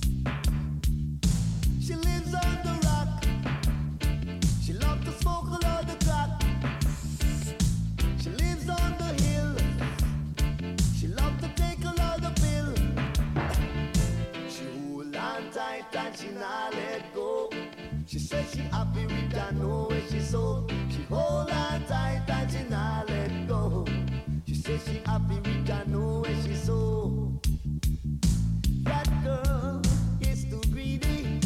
She lives on the rock. She loves to smoke a lot of crack. She lives on the hill. She loves to take a lot of pill. She hold on tight and she not let go. She says she happy with her, know where she so. She hold on tight and she not let go. She says she happy with her, know where she so. That girl is too greedy.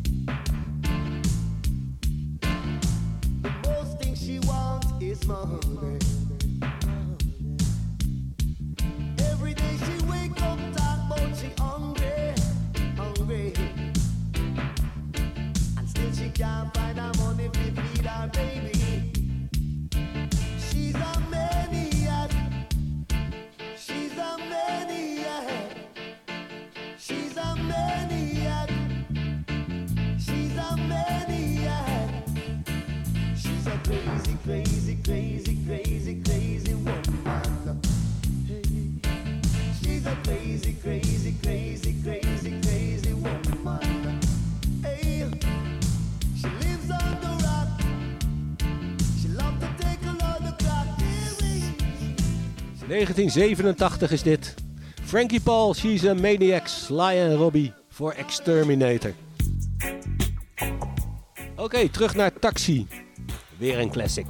The most thing she wants is money. Every day she wake up talk 1987 is dit. Frankie Paul, She's a Maniac, Sly en Robbie voor Exterminator. Oké, terug naar Taxi. Weer een classic.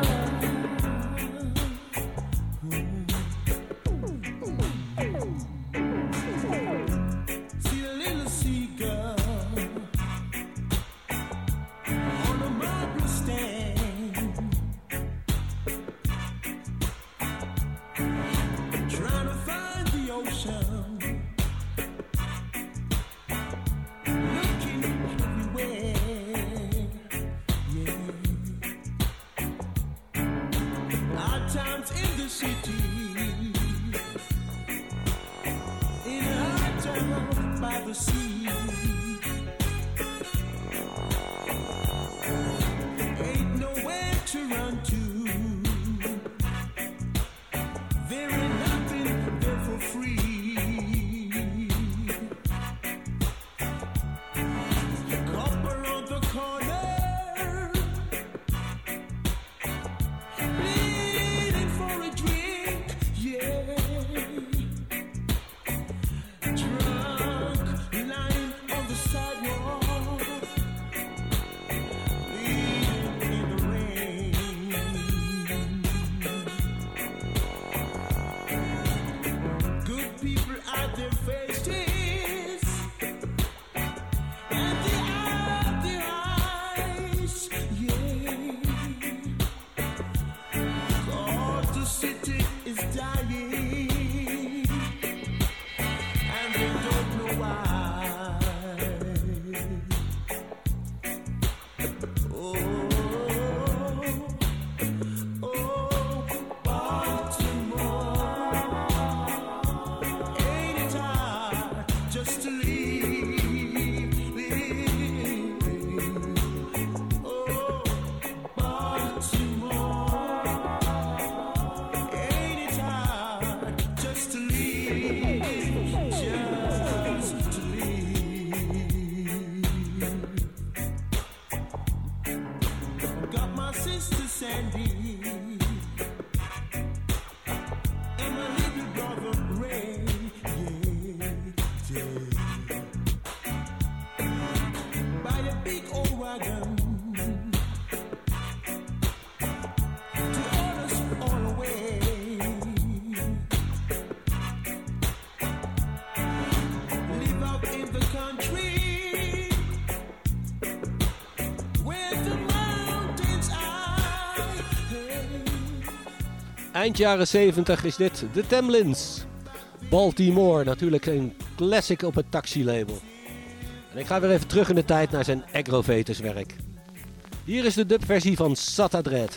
Eind jaren 70 is dit The Tamlins. Baltimore, natuurlijk een classic op het Taxi-label. En ik ga weer even terug in de tijd naar zijn Aggrovators werk. Hier is de dubversie van Sata Dread.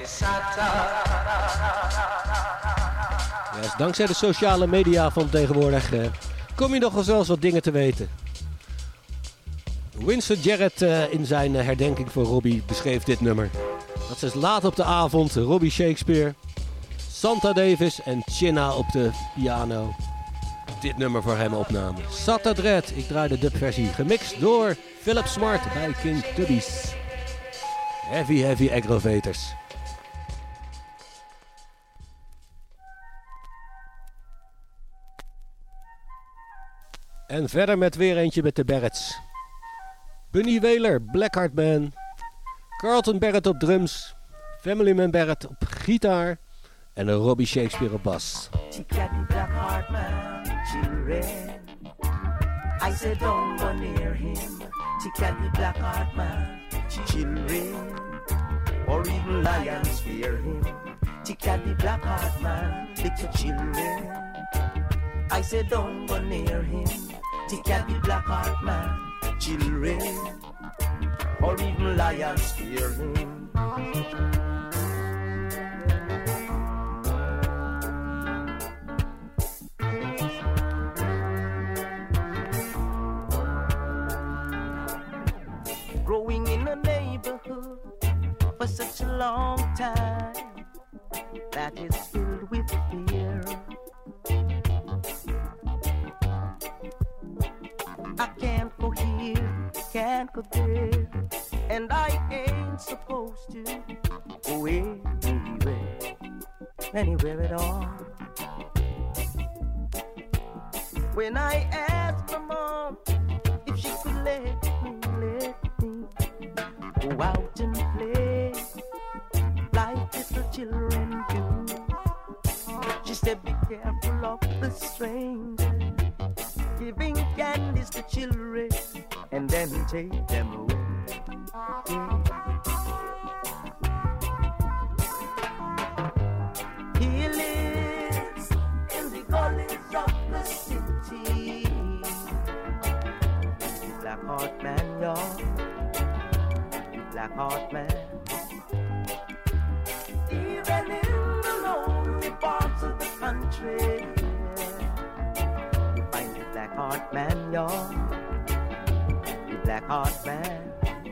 Ja, dus dankzij de sociale media van tegenwoordig kom je nog wel zelfs wat dingen te weten. Winston Jarrett in zijn herdenking voor Robbie beschreef dit nummer. Dat is laat op de avond Robbie Shakespeare, Santa Davis en Chinna op de piano dit nummer voor hem opnamen. Sata Dread, ik draai de dubversie, gemixt door Philip Smart bij King Tubbies. Heavy aggrovators. En verder met weer eentje met de Barretts. Bunny Wailer, Blackheart Man, Carlton Barrett op drums, Family Man Barrett op gitaar en een Robbie Shakespeare op bas. I said don't go near him. She can't be Blackheart Man, children, or even lions fear him. She can't be Blackheart Man, little children. I said don't go near him. She can't be Blackheart Man, children, or even lions fear him. Growing in a neighborhood for such a long time that is filled with fear. I can't go here, can't go there, and I ain't supposed to go anywhere at all. When I asked my mom if she could let me go out and play like little children do, she said be careful of the stranger, giving candies to children and then take them away. He lives in the gullies of the city, Blackheart Man, y'all, Blackheart Man. Even in the lonely parts of the country, you find the Blackheart Man, y'all, the Blackheart Man.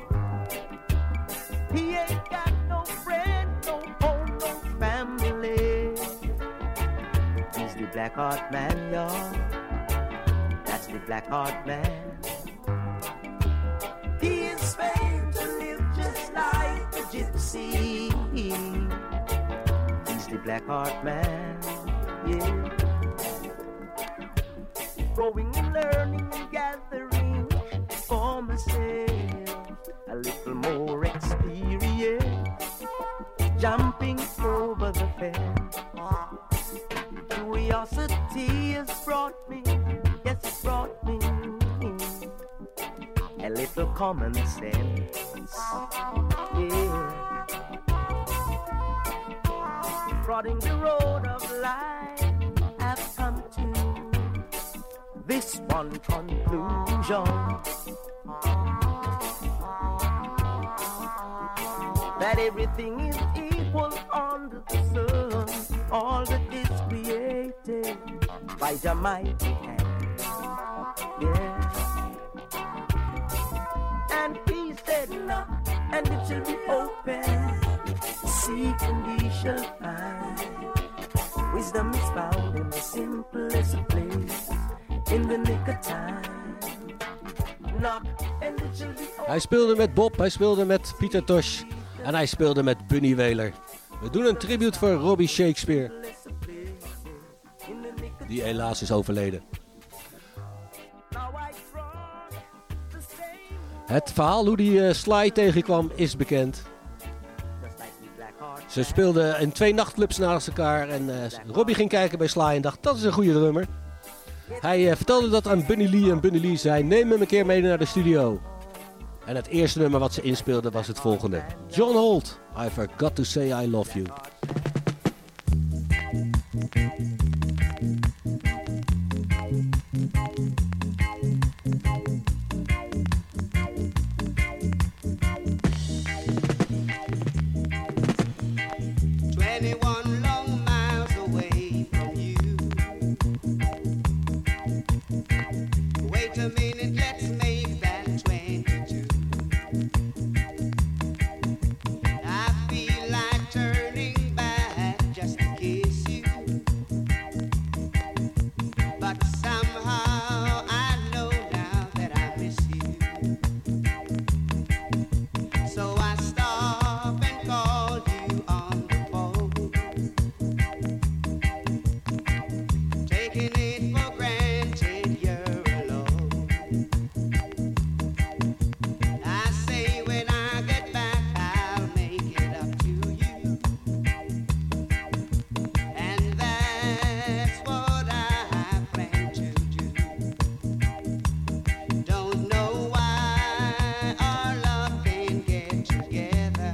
He ain't got no friend, no home, no family. He's the Blackheart Man, y'all. That's the Blackheart Man. He is famed to live just like a gypsy. He's the Blackheart Man, yeah. Growing and learning and gathering for myself a little more experience, jumping over the fence. Curiosity has brought me, yes, it brought me a little common sense, yeah. Prodding the road of life, I've come to this one conclusion, that everything is equal under the sun. All that is created by the mighty hand, yeah. And he said knock and it shall be open, seek and ye shall find. Wisdom is found in the simplest place, in the nick of time. Knock and it shall be open. Hij speelde met Bob, hij speelde met Pieter Tosh en hij speelde met Bunny Wailer. We doen een tribute voor Robbie Shakespeare, die helaas is overleden. Het verhaal hoe die Sly tegenkwam is bekend. Ze speelden in 2 nachtclubs naast elkaar en Robbie ging kijken bij Sly en dacht dat is een goede drummer. Hij vertelde dat aan Bunny Lee en Bunny Lee zei neem hem een keer mee naar de studio. En het eerste nummer wat ze inspeelden was het volgende. John Holt, I Forgot to Say I Love You. Wait a minute, let's make that 22. I feel like turning back just to kiss you, but somehow I know now that I miss you. So I stop and call you on the phone, taking it for granted you're alone. I say when I get back I'll make it up to you, and that's what I plan to do. Don't know why our love can't get together.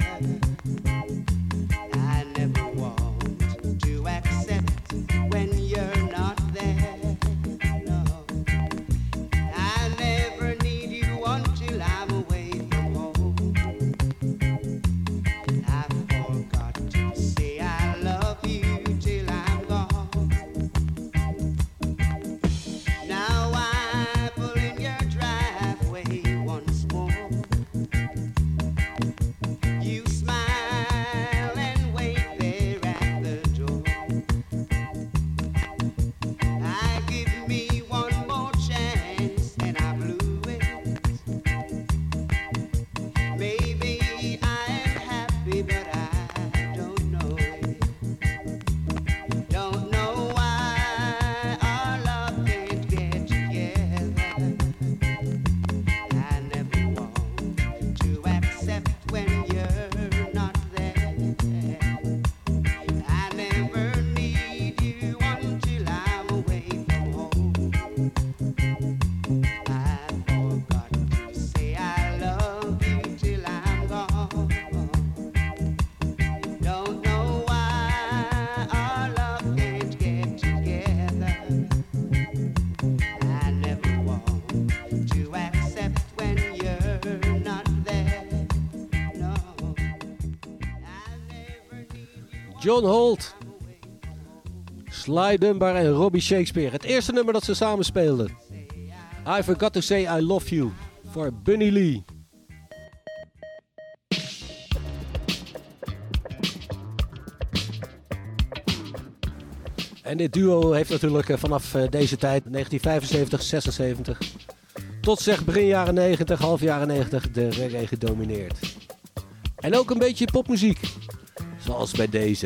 I never want to accept when you're not there. No, I never need you until I'm away from home. I forgot to say I love you till I'm gone. Now I pull in your driveway once more. You smile and wait there at the door. I give me one more chance and I blew it. Maybe I am happy, but I don't know it. Don't know why our love can't get together. I never want to accept when you're not there. I never need you until I'm away from home. I forgot to say I love you till I'm gone. Don't know why our love can't get together. I never want to accept when you're not there. No, I never need you. John Holt, Sly Dunbar en Robbie Shakespeare. Het eerste nummer dat ze samen speelden. I Forgot to Say I Love You voor Bunny Lee. En dit duo heeft natuurlijk vanaf deze tijd, 1975, 76, tot zeg begin jaren 90, half jaren 90, de reggae gedomineerd. En ook een beetje popmuziek, zoals bij deze.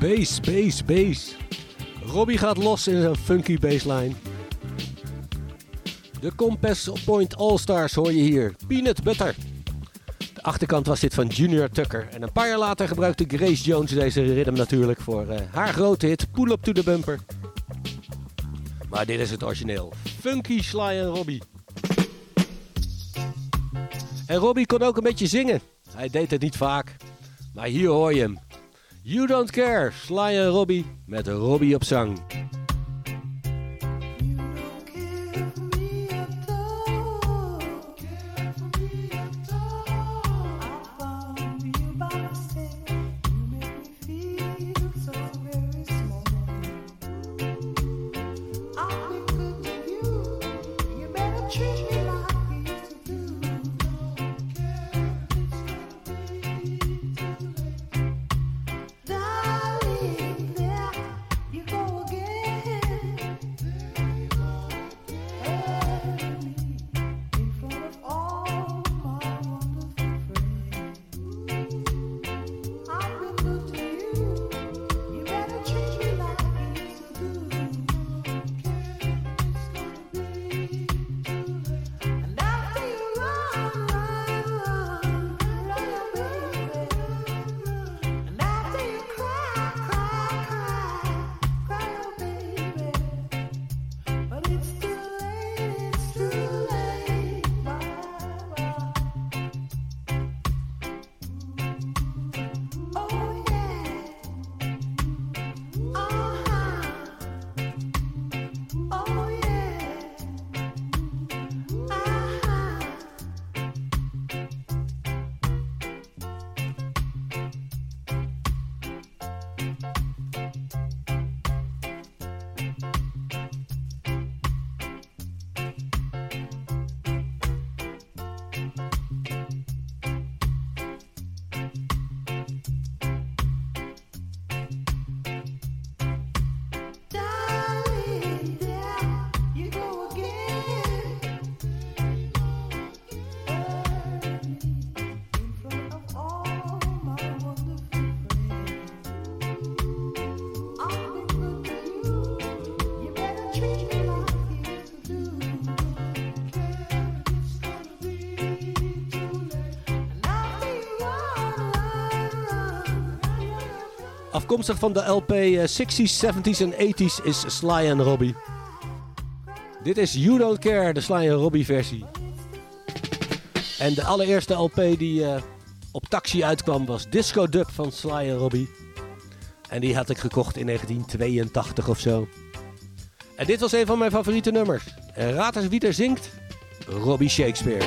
Bass. Robbie gaat los in zijn funky bassline. De Compass Point All-Stars hoor je hier. Peanut Butter. De achterkant was dit van Junior Tucker. En een paar jaar later gebruikte Grace Jones deze rhythm natuurlijk voor haar grote hit Pull Up to the Bumper. Maar dit is het origineel. Funky Sly en Robbie. En Robbie kon ook een beetje zingen. Hij deed het niet vaak. Maar hier hoor je hem. You Don't Care, Sly en Robbie met Robbie op zang. Afkomstig van de LP 60s, 70s en 80s is Sly en Robbie. Dit is You Don't Care, de Sly en Robbie versie. En de allereerste LP die op Taxi uitkwam was Disco Dub van Sly en Robbie. En die had ik gekocht in 1982 of zo. En dit was een van mijn favoriete nummers. En raad eens wie er zingt? Robbie Shakespeare.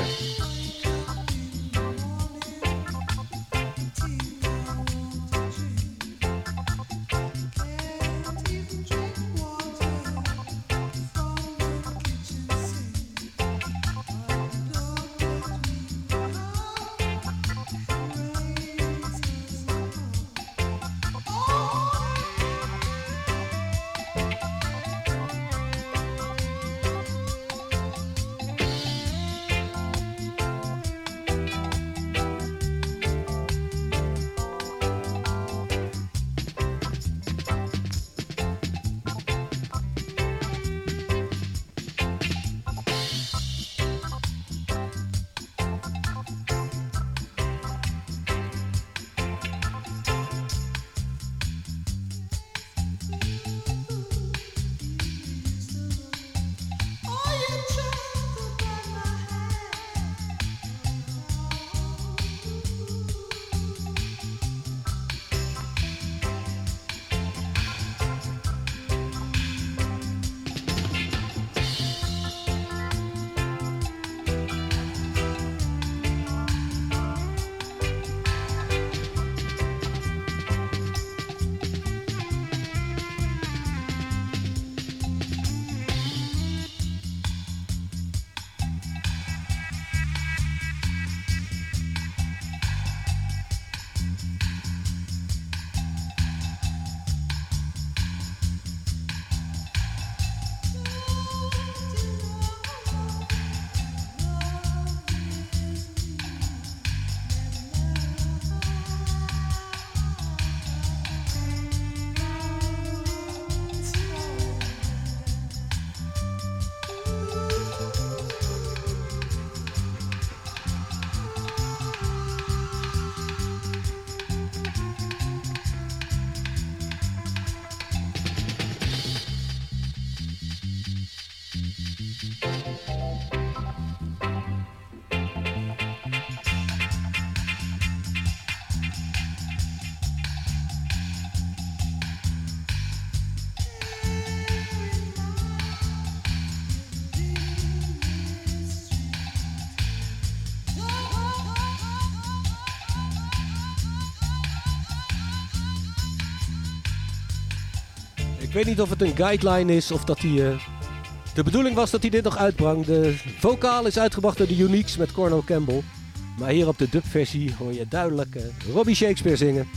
weet niet of het een guideline is of dat hij... de bedoeling was dat hij dit nog uitbrengt. De vocaal is uitgebracht door de Uniques met Cornel Campbell. Maar hier op de dubversie hoor je duidelijk Robbie Shakespeare zingen.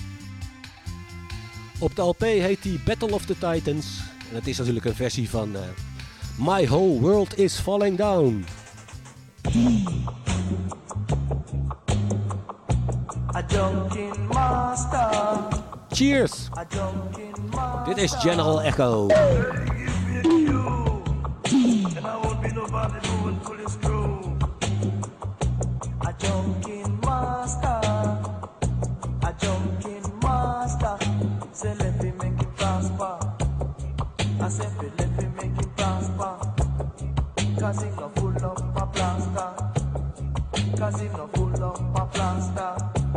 Op de LP heet die Battle of the Titans. En het is natuurlijk een versie van My Whole World is Falling Down. A Dunkin' Master. Cheers! Dit is General Echo. A Dunkin' Master. A Dunkin' Master. Say let me make it prosper. I say let me make it prosper. Cause it no full of my plaster. Cause it no full of my plaster.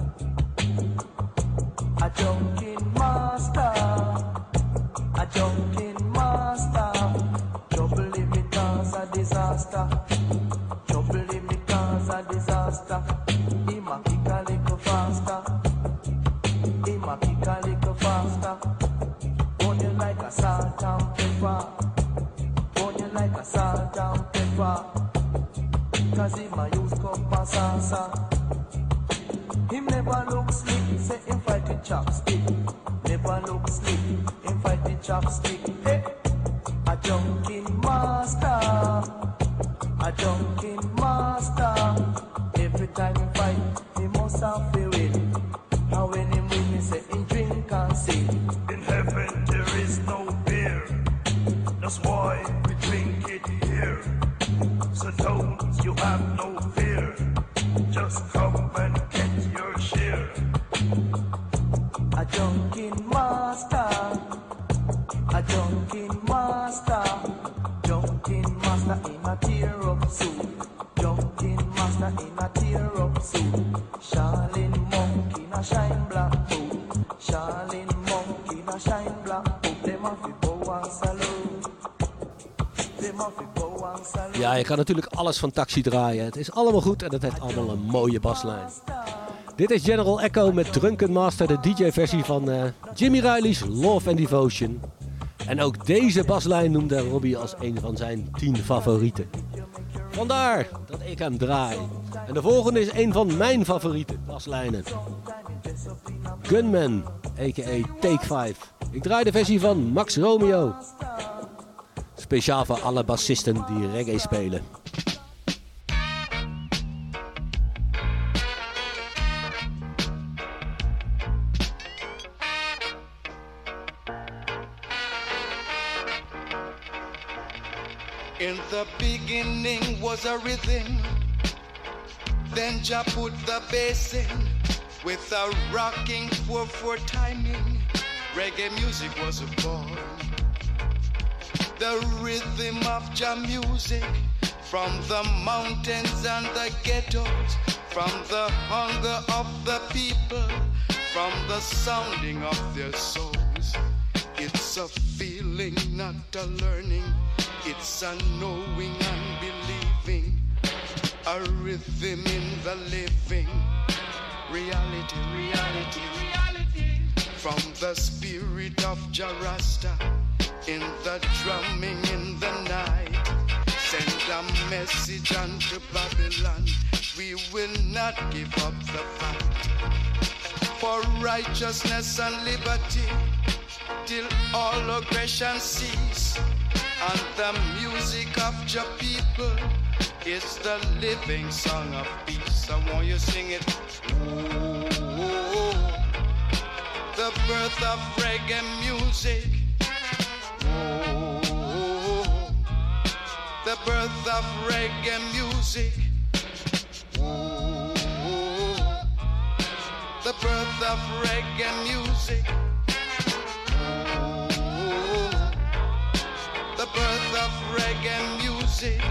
A Dunkin' Master. A Dunkin' Master. Trouble in me cause a disaster. Trouble in me cause a disaster. He ma kick a little faster. He ma kick a little faster. Burn you like a salt and pepper. Burn you like a salt and pepper. Cause he ma use cup and salsa. Him never look slick, say him fight with chopstick. Never look slick, him fight with chopstick. Hey, a Dunkin' Master. A Dunkin' Master. Every time he fight, he must have to win. How when him win, he say he drink and sing. In heaven there is no beer. That's why we drink it here. So don't you have no fear. Just come and get your share. A Dunkin' Master. A Dunkin' Master. Dunkin' Master in a tear-up suit. Dunkin' Master in a tear-up suit. Charlene Monk in a shine black boot. Charlene Monk in a shine black boot. Them have to bow and salute. Them have to bow and salute. Ja, je kan natuurlijk alles van Taxi draaien. Het is allemaal goed en het heeft allemaal een mooie baslijn. Dit is General Echo met Drunken Master, de DJ-versie van Jimmy Riley's Love and Devotion. En ook deze baslijn noemde Robbie als een van zijn 10 favorieten. Vandaar dat ik hem draai. En de volgende is een van mijn favoriete baslijnen. Gunman, a.k.a. Take 5. Ik draai de versie van Max Romeo. Speciaal voor alle bassisten die reggae spelen. In the beginning was a rhythm, then Jah put the bass in with a rocking 4/4 timing. Reggae music was born. The rhythm of Jah music from the mountains and the ghettos, from the hunger of the people, from the sounding of their souls. It's a feeling, not a learning. It's a knowing and believing, a rhythm in the living, reality, reality, reality. From the spirit of Jah Rasta, in the drumming in the night, send a message unto Babylon, we will not give up the fight. For righteousness and liberty, till all aggression cease. And the music of your people is the living song of peace. I want you to sing it. Ooh, the birth of reggae music. Ooh, the birth of reggae music. Ooh, the birth of reggae music. The birth of reggae music.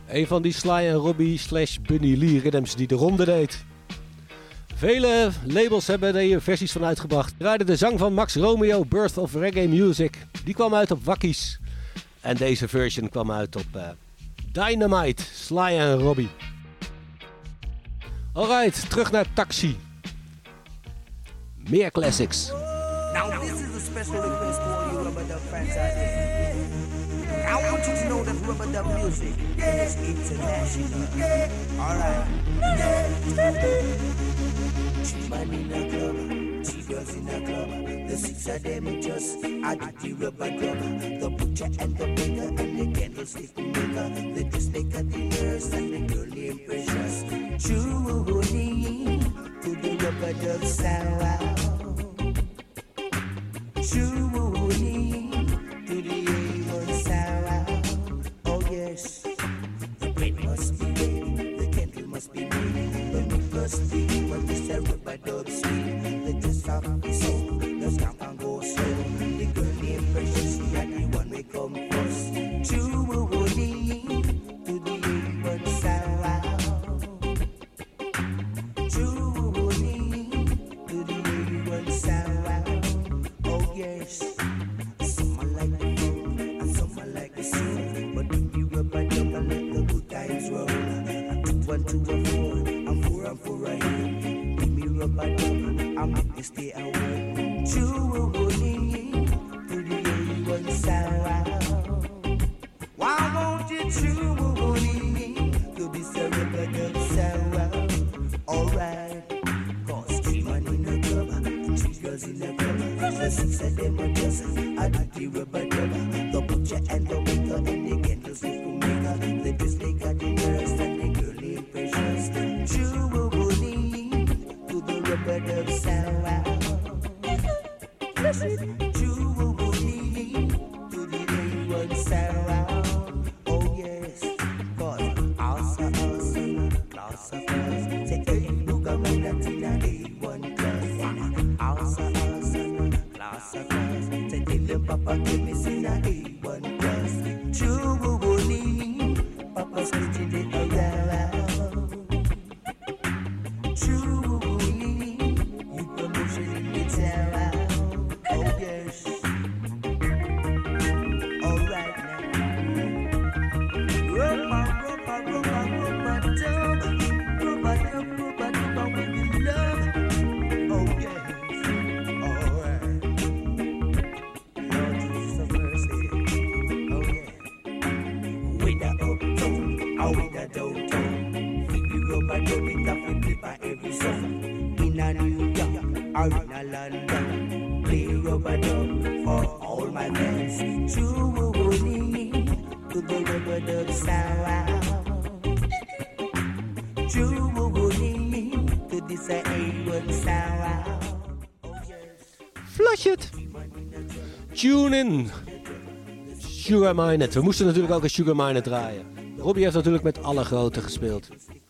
Een van die Sly en Robbie / Bunny Lee rhythms die de ronde deed. Vele labels hebben er hier versies van uitgebracht. Draaide de zang van Max Romeo, Birth of Reggae Music. Die kwam uit op Wakkies. En deze version kwam uit op Dynamite, Sly en Robbie. Alright, terug naar Taxi. Meer classics. Now this is a special request to all you rubber dub fans out there. I want you to know that rubber dub music is international. Alright. Two man in a club, two girls in a club. The six of them just add the rubber dub. The butcher and the baker and the candlestick maker. The dressmaker, the nurse and the girl named Precious. Truly to the rubber dub sound. Truly to the A1 sound. Oh yes, the bread must be made, the candle must be made, the meat must be when this a rubber dub sweet. The just of the soul, the stamp and go slow. The girl named Precious, she had the one we come first. Truly to the A1 sound. Truly to the A1 sound. Oh yes, some are like the funk and some are like the soul. But if you rubber dub and let the good times roll, 2 and 2 and 4 and 4 and 4 are here. Give me rubber dub and make me stay away. Truly to the A1 sound. Why won't you truly to this a rubber dub sound? Alright, 'cause 3 man in a club, 3 girls in a club. The 6 of them are just I do the rubber dub. The butcher and the baker and the candlestick maker. The dressmaker, the nurse and the girl named Precious. Truly to the rubber dub sound. Truly to the A1 sound. Oh yes, 'cause awesome, class of class. Say hey, look at me, that's in a A1 class. Awesome, class of class. Say tell them Papa give me in a A1 class. Truly, Papa's spitting it around. Truly, you promotion it around. Oh yes. Alright now. Rubber dub. Rubber dub with the love. Oh yes. Alright. Lord Jesus have mercy. Oh yeah. With the uptown, or with the downtown. Feed the rubber dub it up and flip by every song. In a New York or in a London. Play rubber dub for all my fans. Truly to the rubber dub sound. Truly to this A1 sound. Flush it! Tune in! Sugar Minott. We moesten natuurlijk ook een Sugar Minott draaien. Robbie heeft natuurlijk met alle grote gespeeld.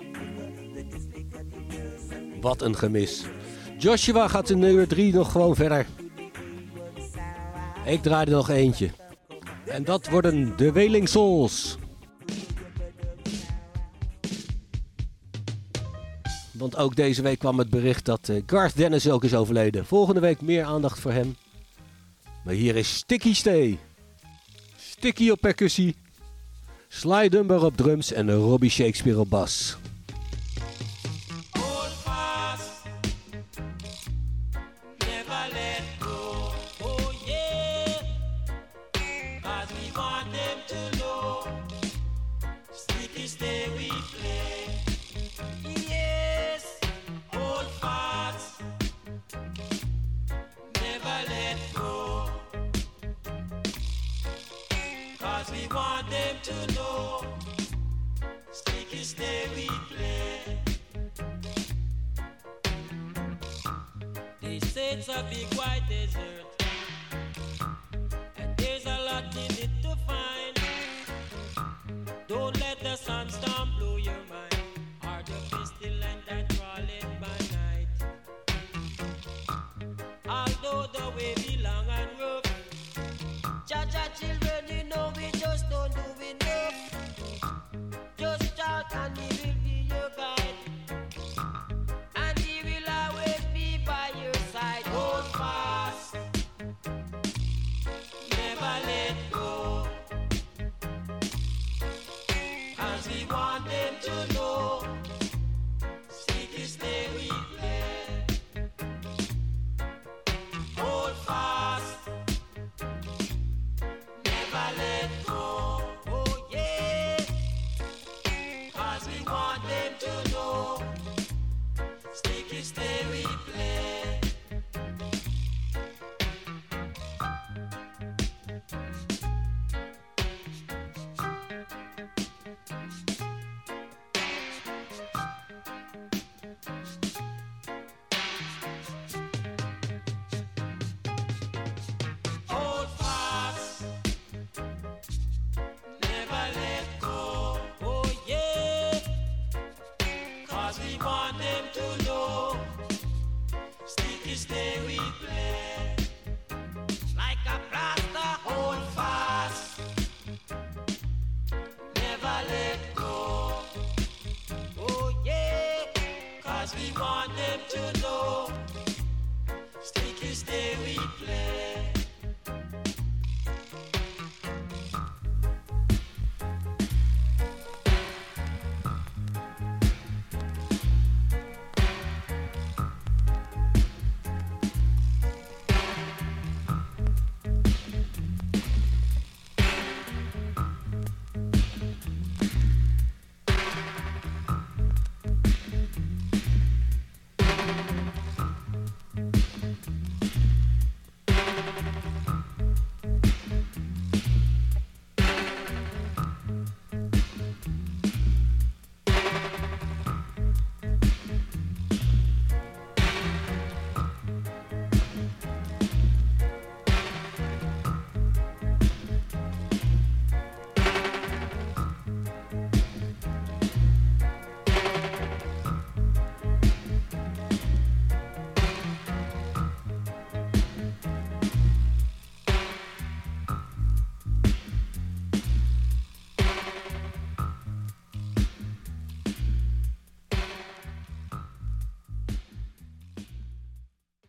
Wat een gemis. Joshua gaat in nummer 3 nog gewoon verder. Ik draai er nog eentje. En dat worden de Wailing Souls. Want ook deze week kwam het bericht dat Garth Dennis ook is overleden. Volgende week meer aandacht voor hem. Maar hier is Sticky Stay. Sticky op percussie. Sly Dunbar op drums en Robbie Shakespeare op bas. To know, sticky stay we play. They say it's a big white desert, and there's a lot in it to find. Don't let the sunstorm blow your mind, or the pestilence that crawling by night. Although the way be long and rough, Jaja children, you know we just don't do enough. Just want them to know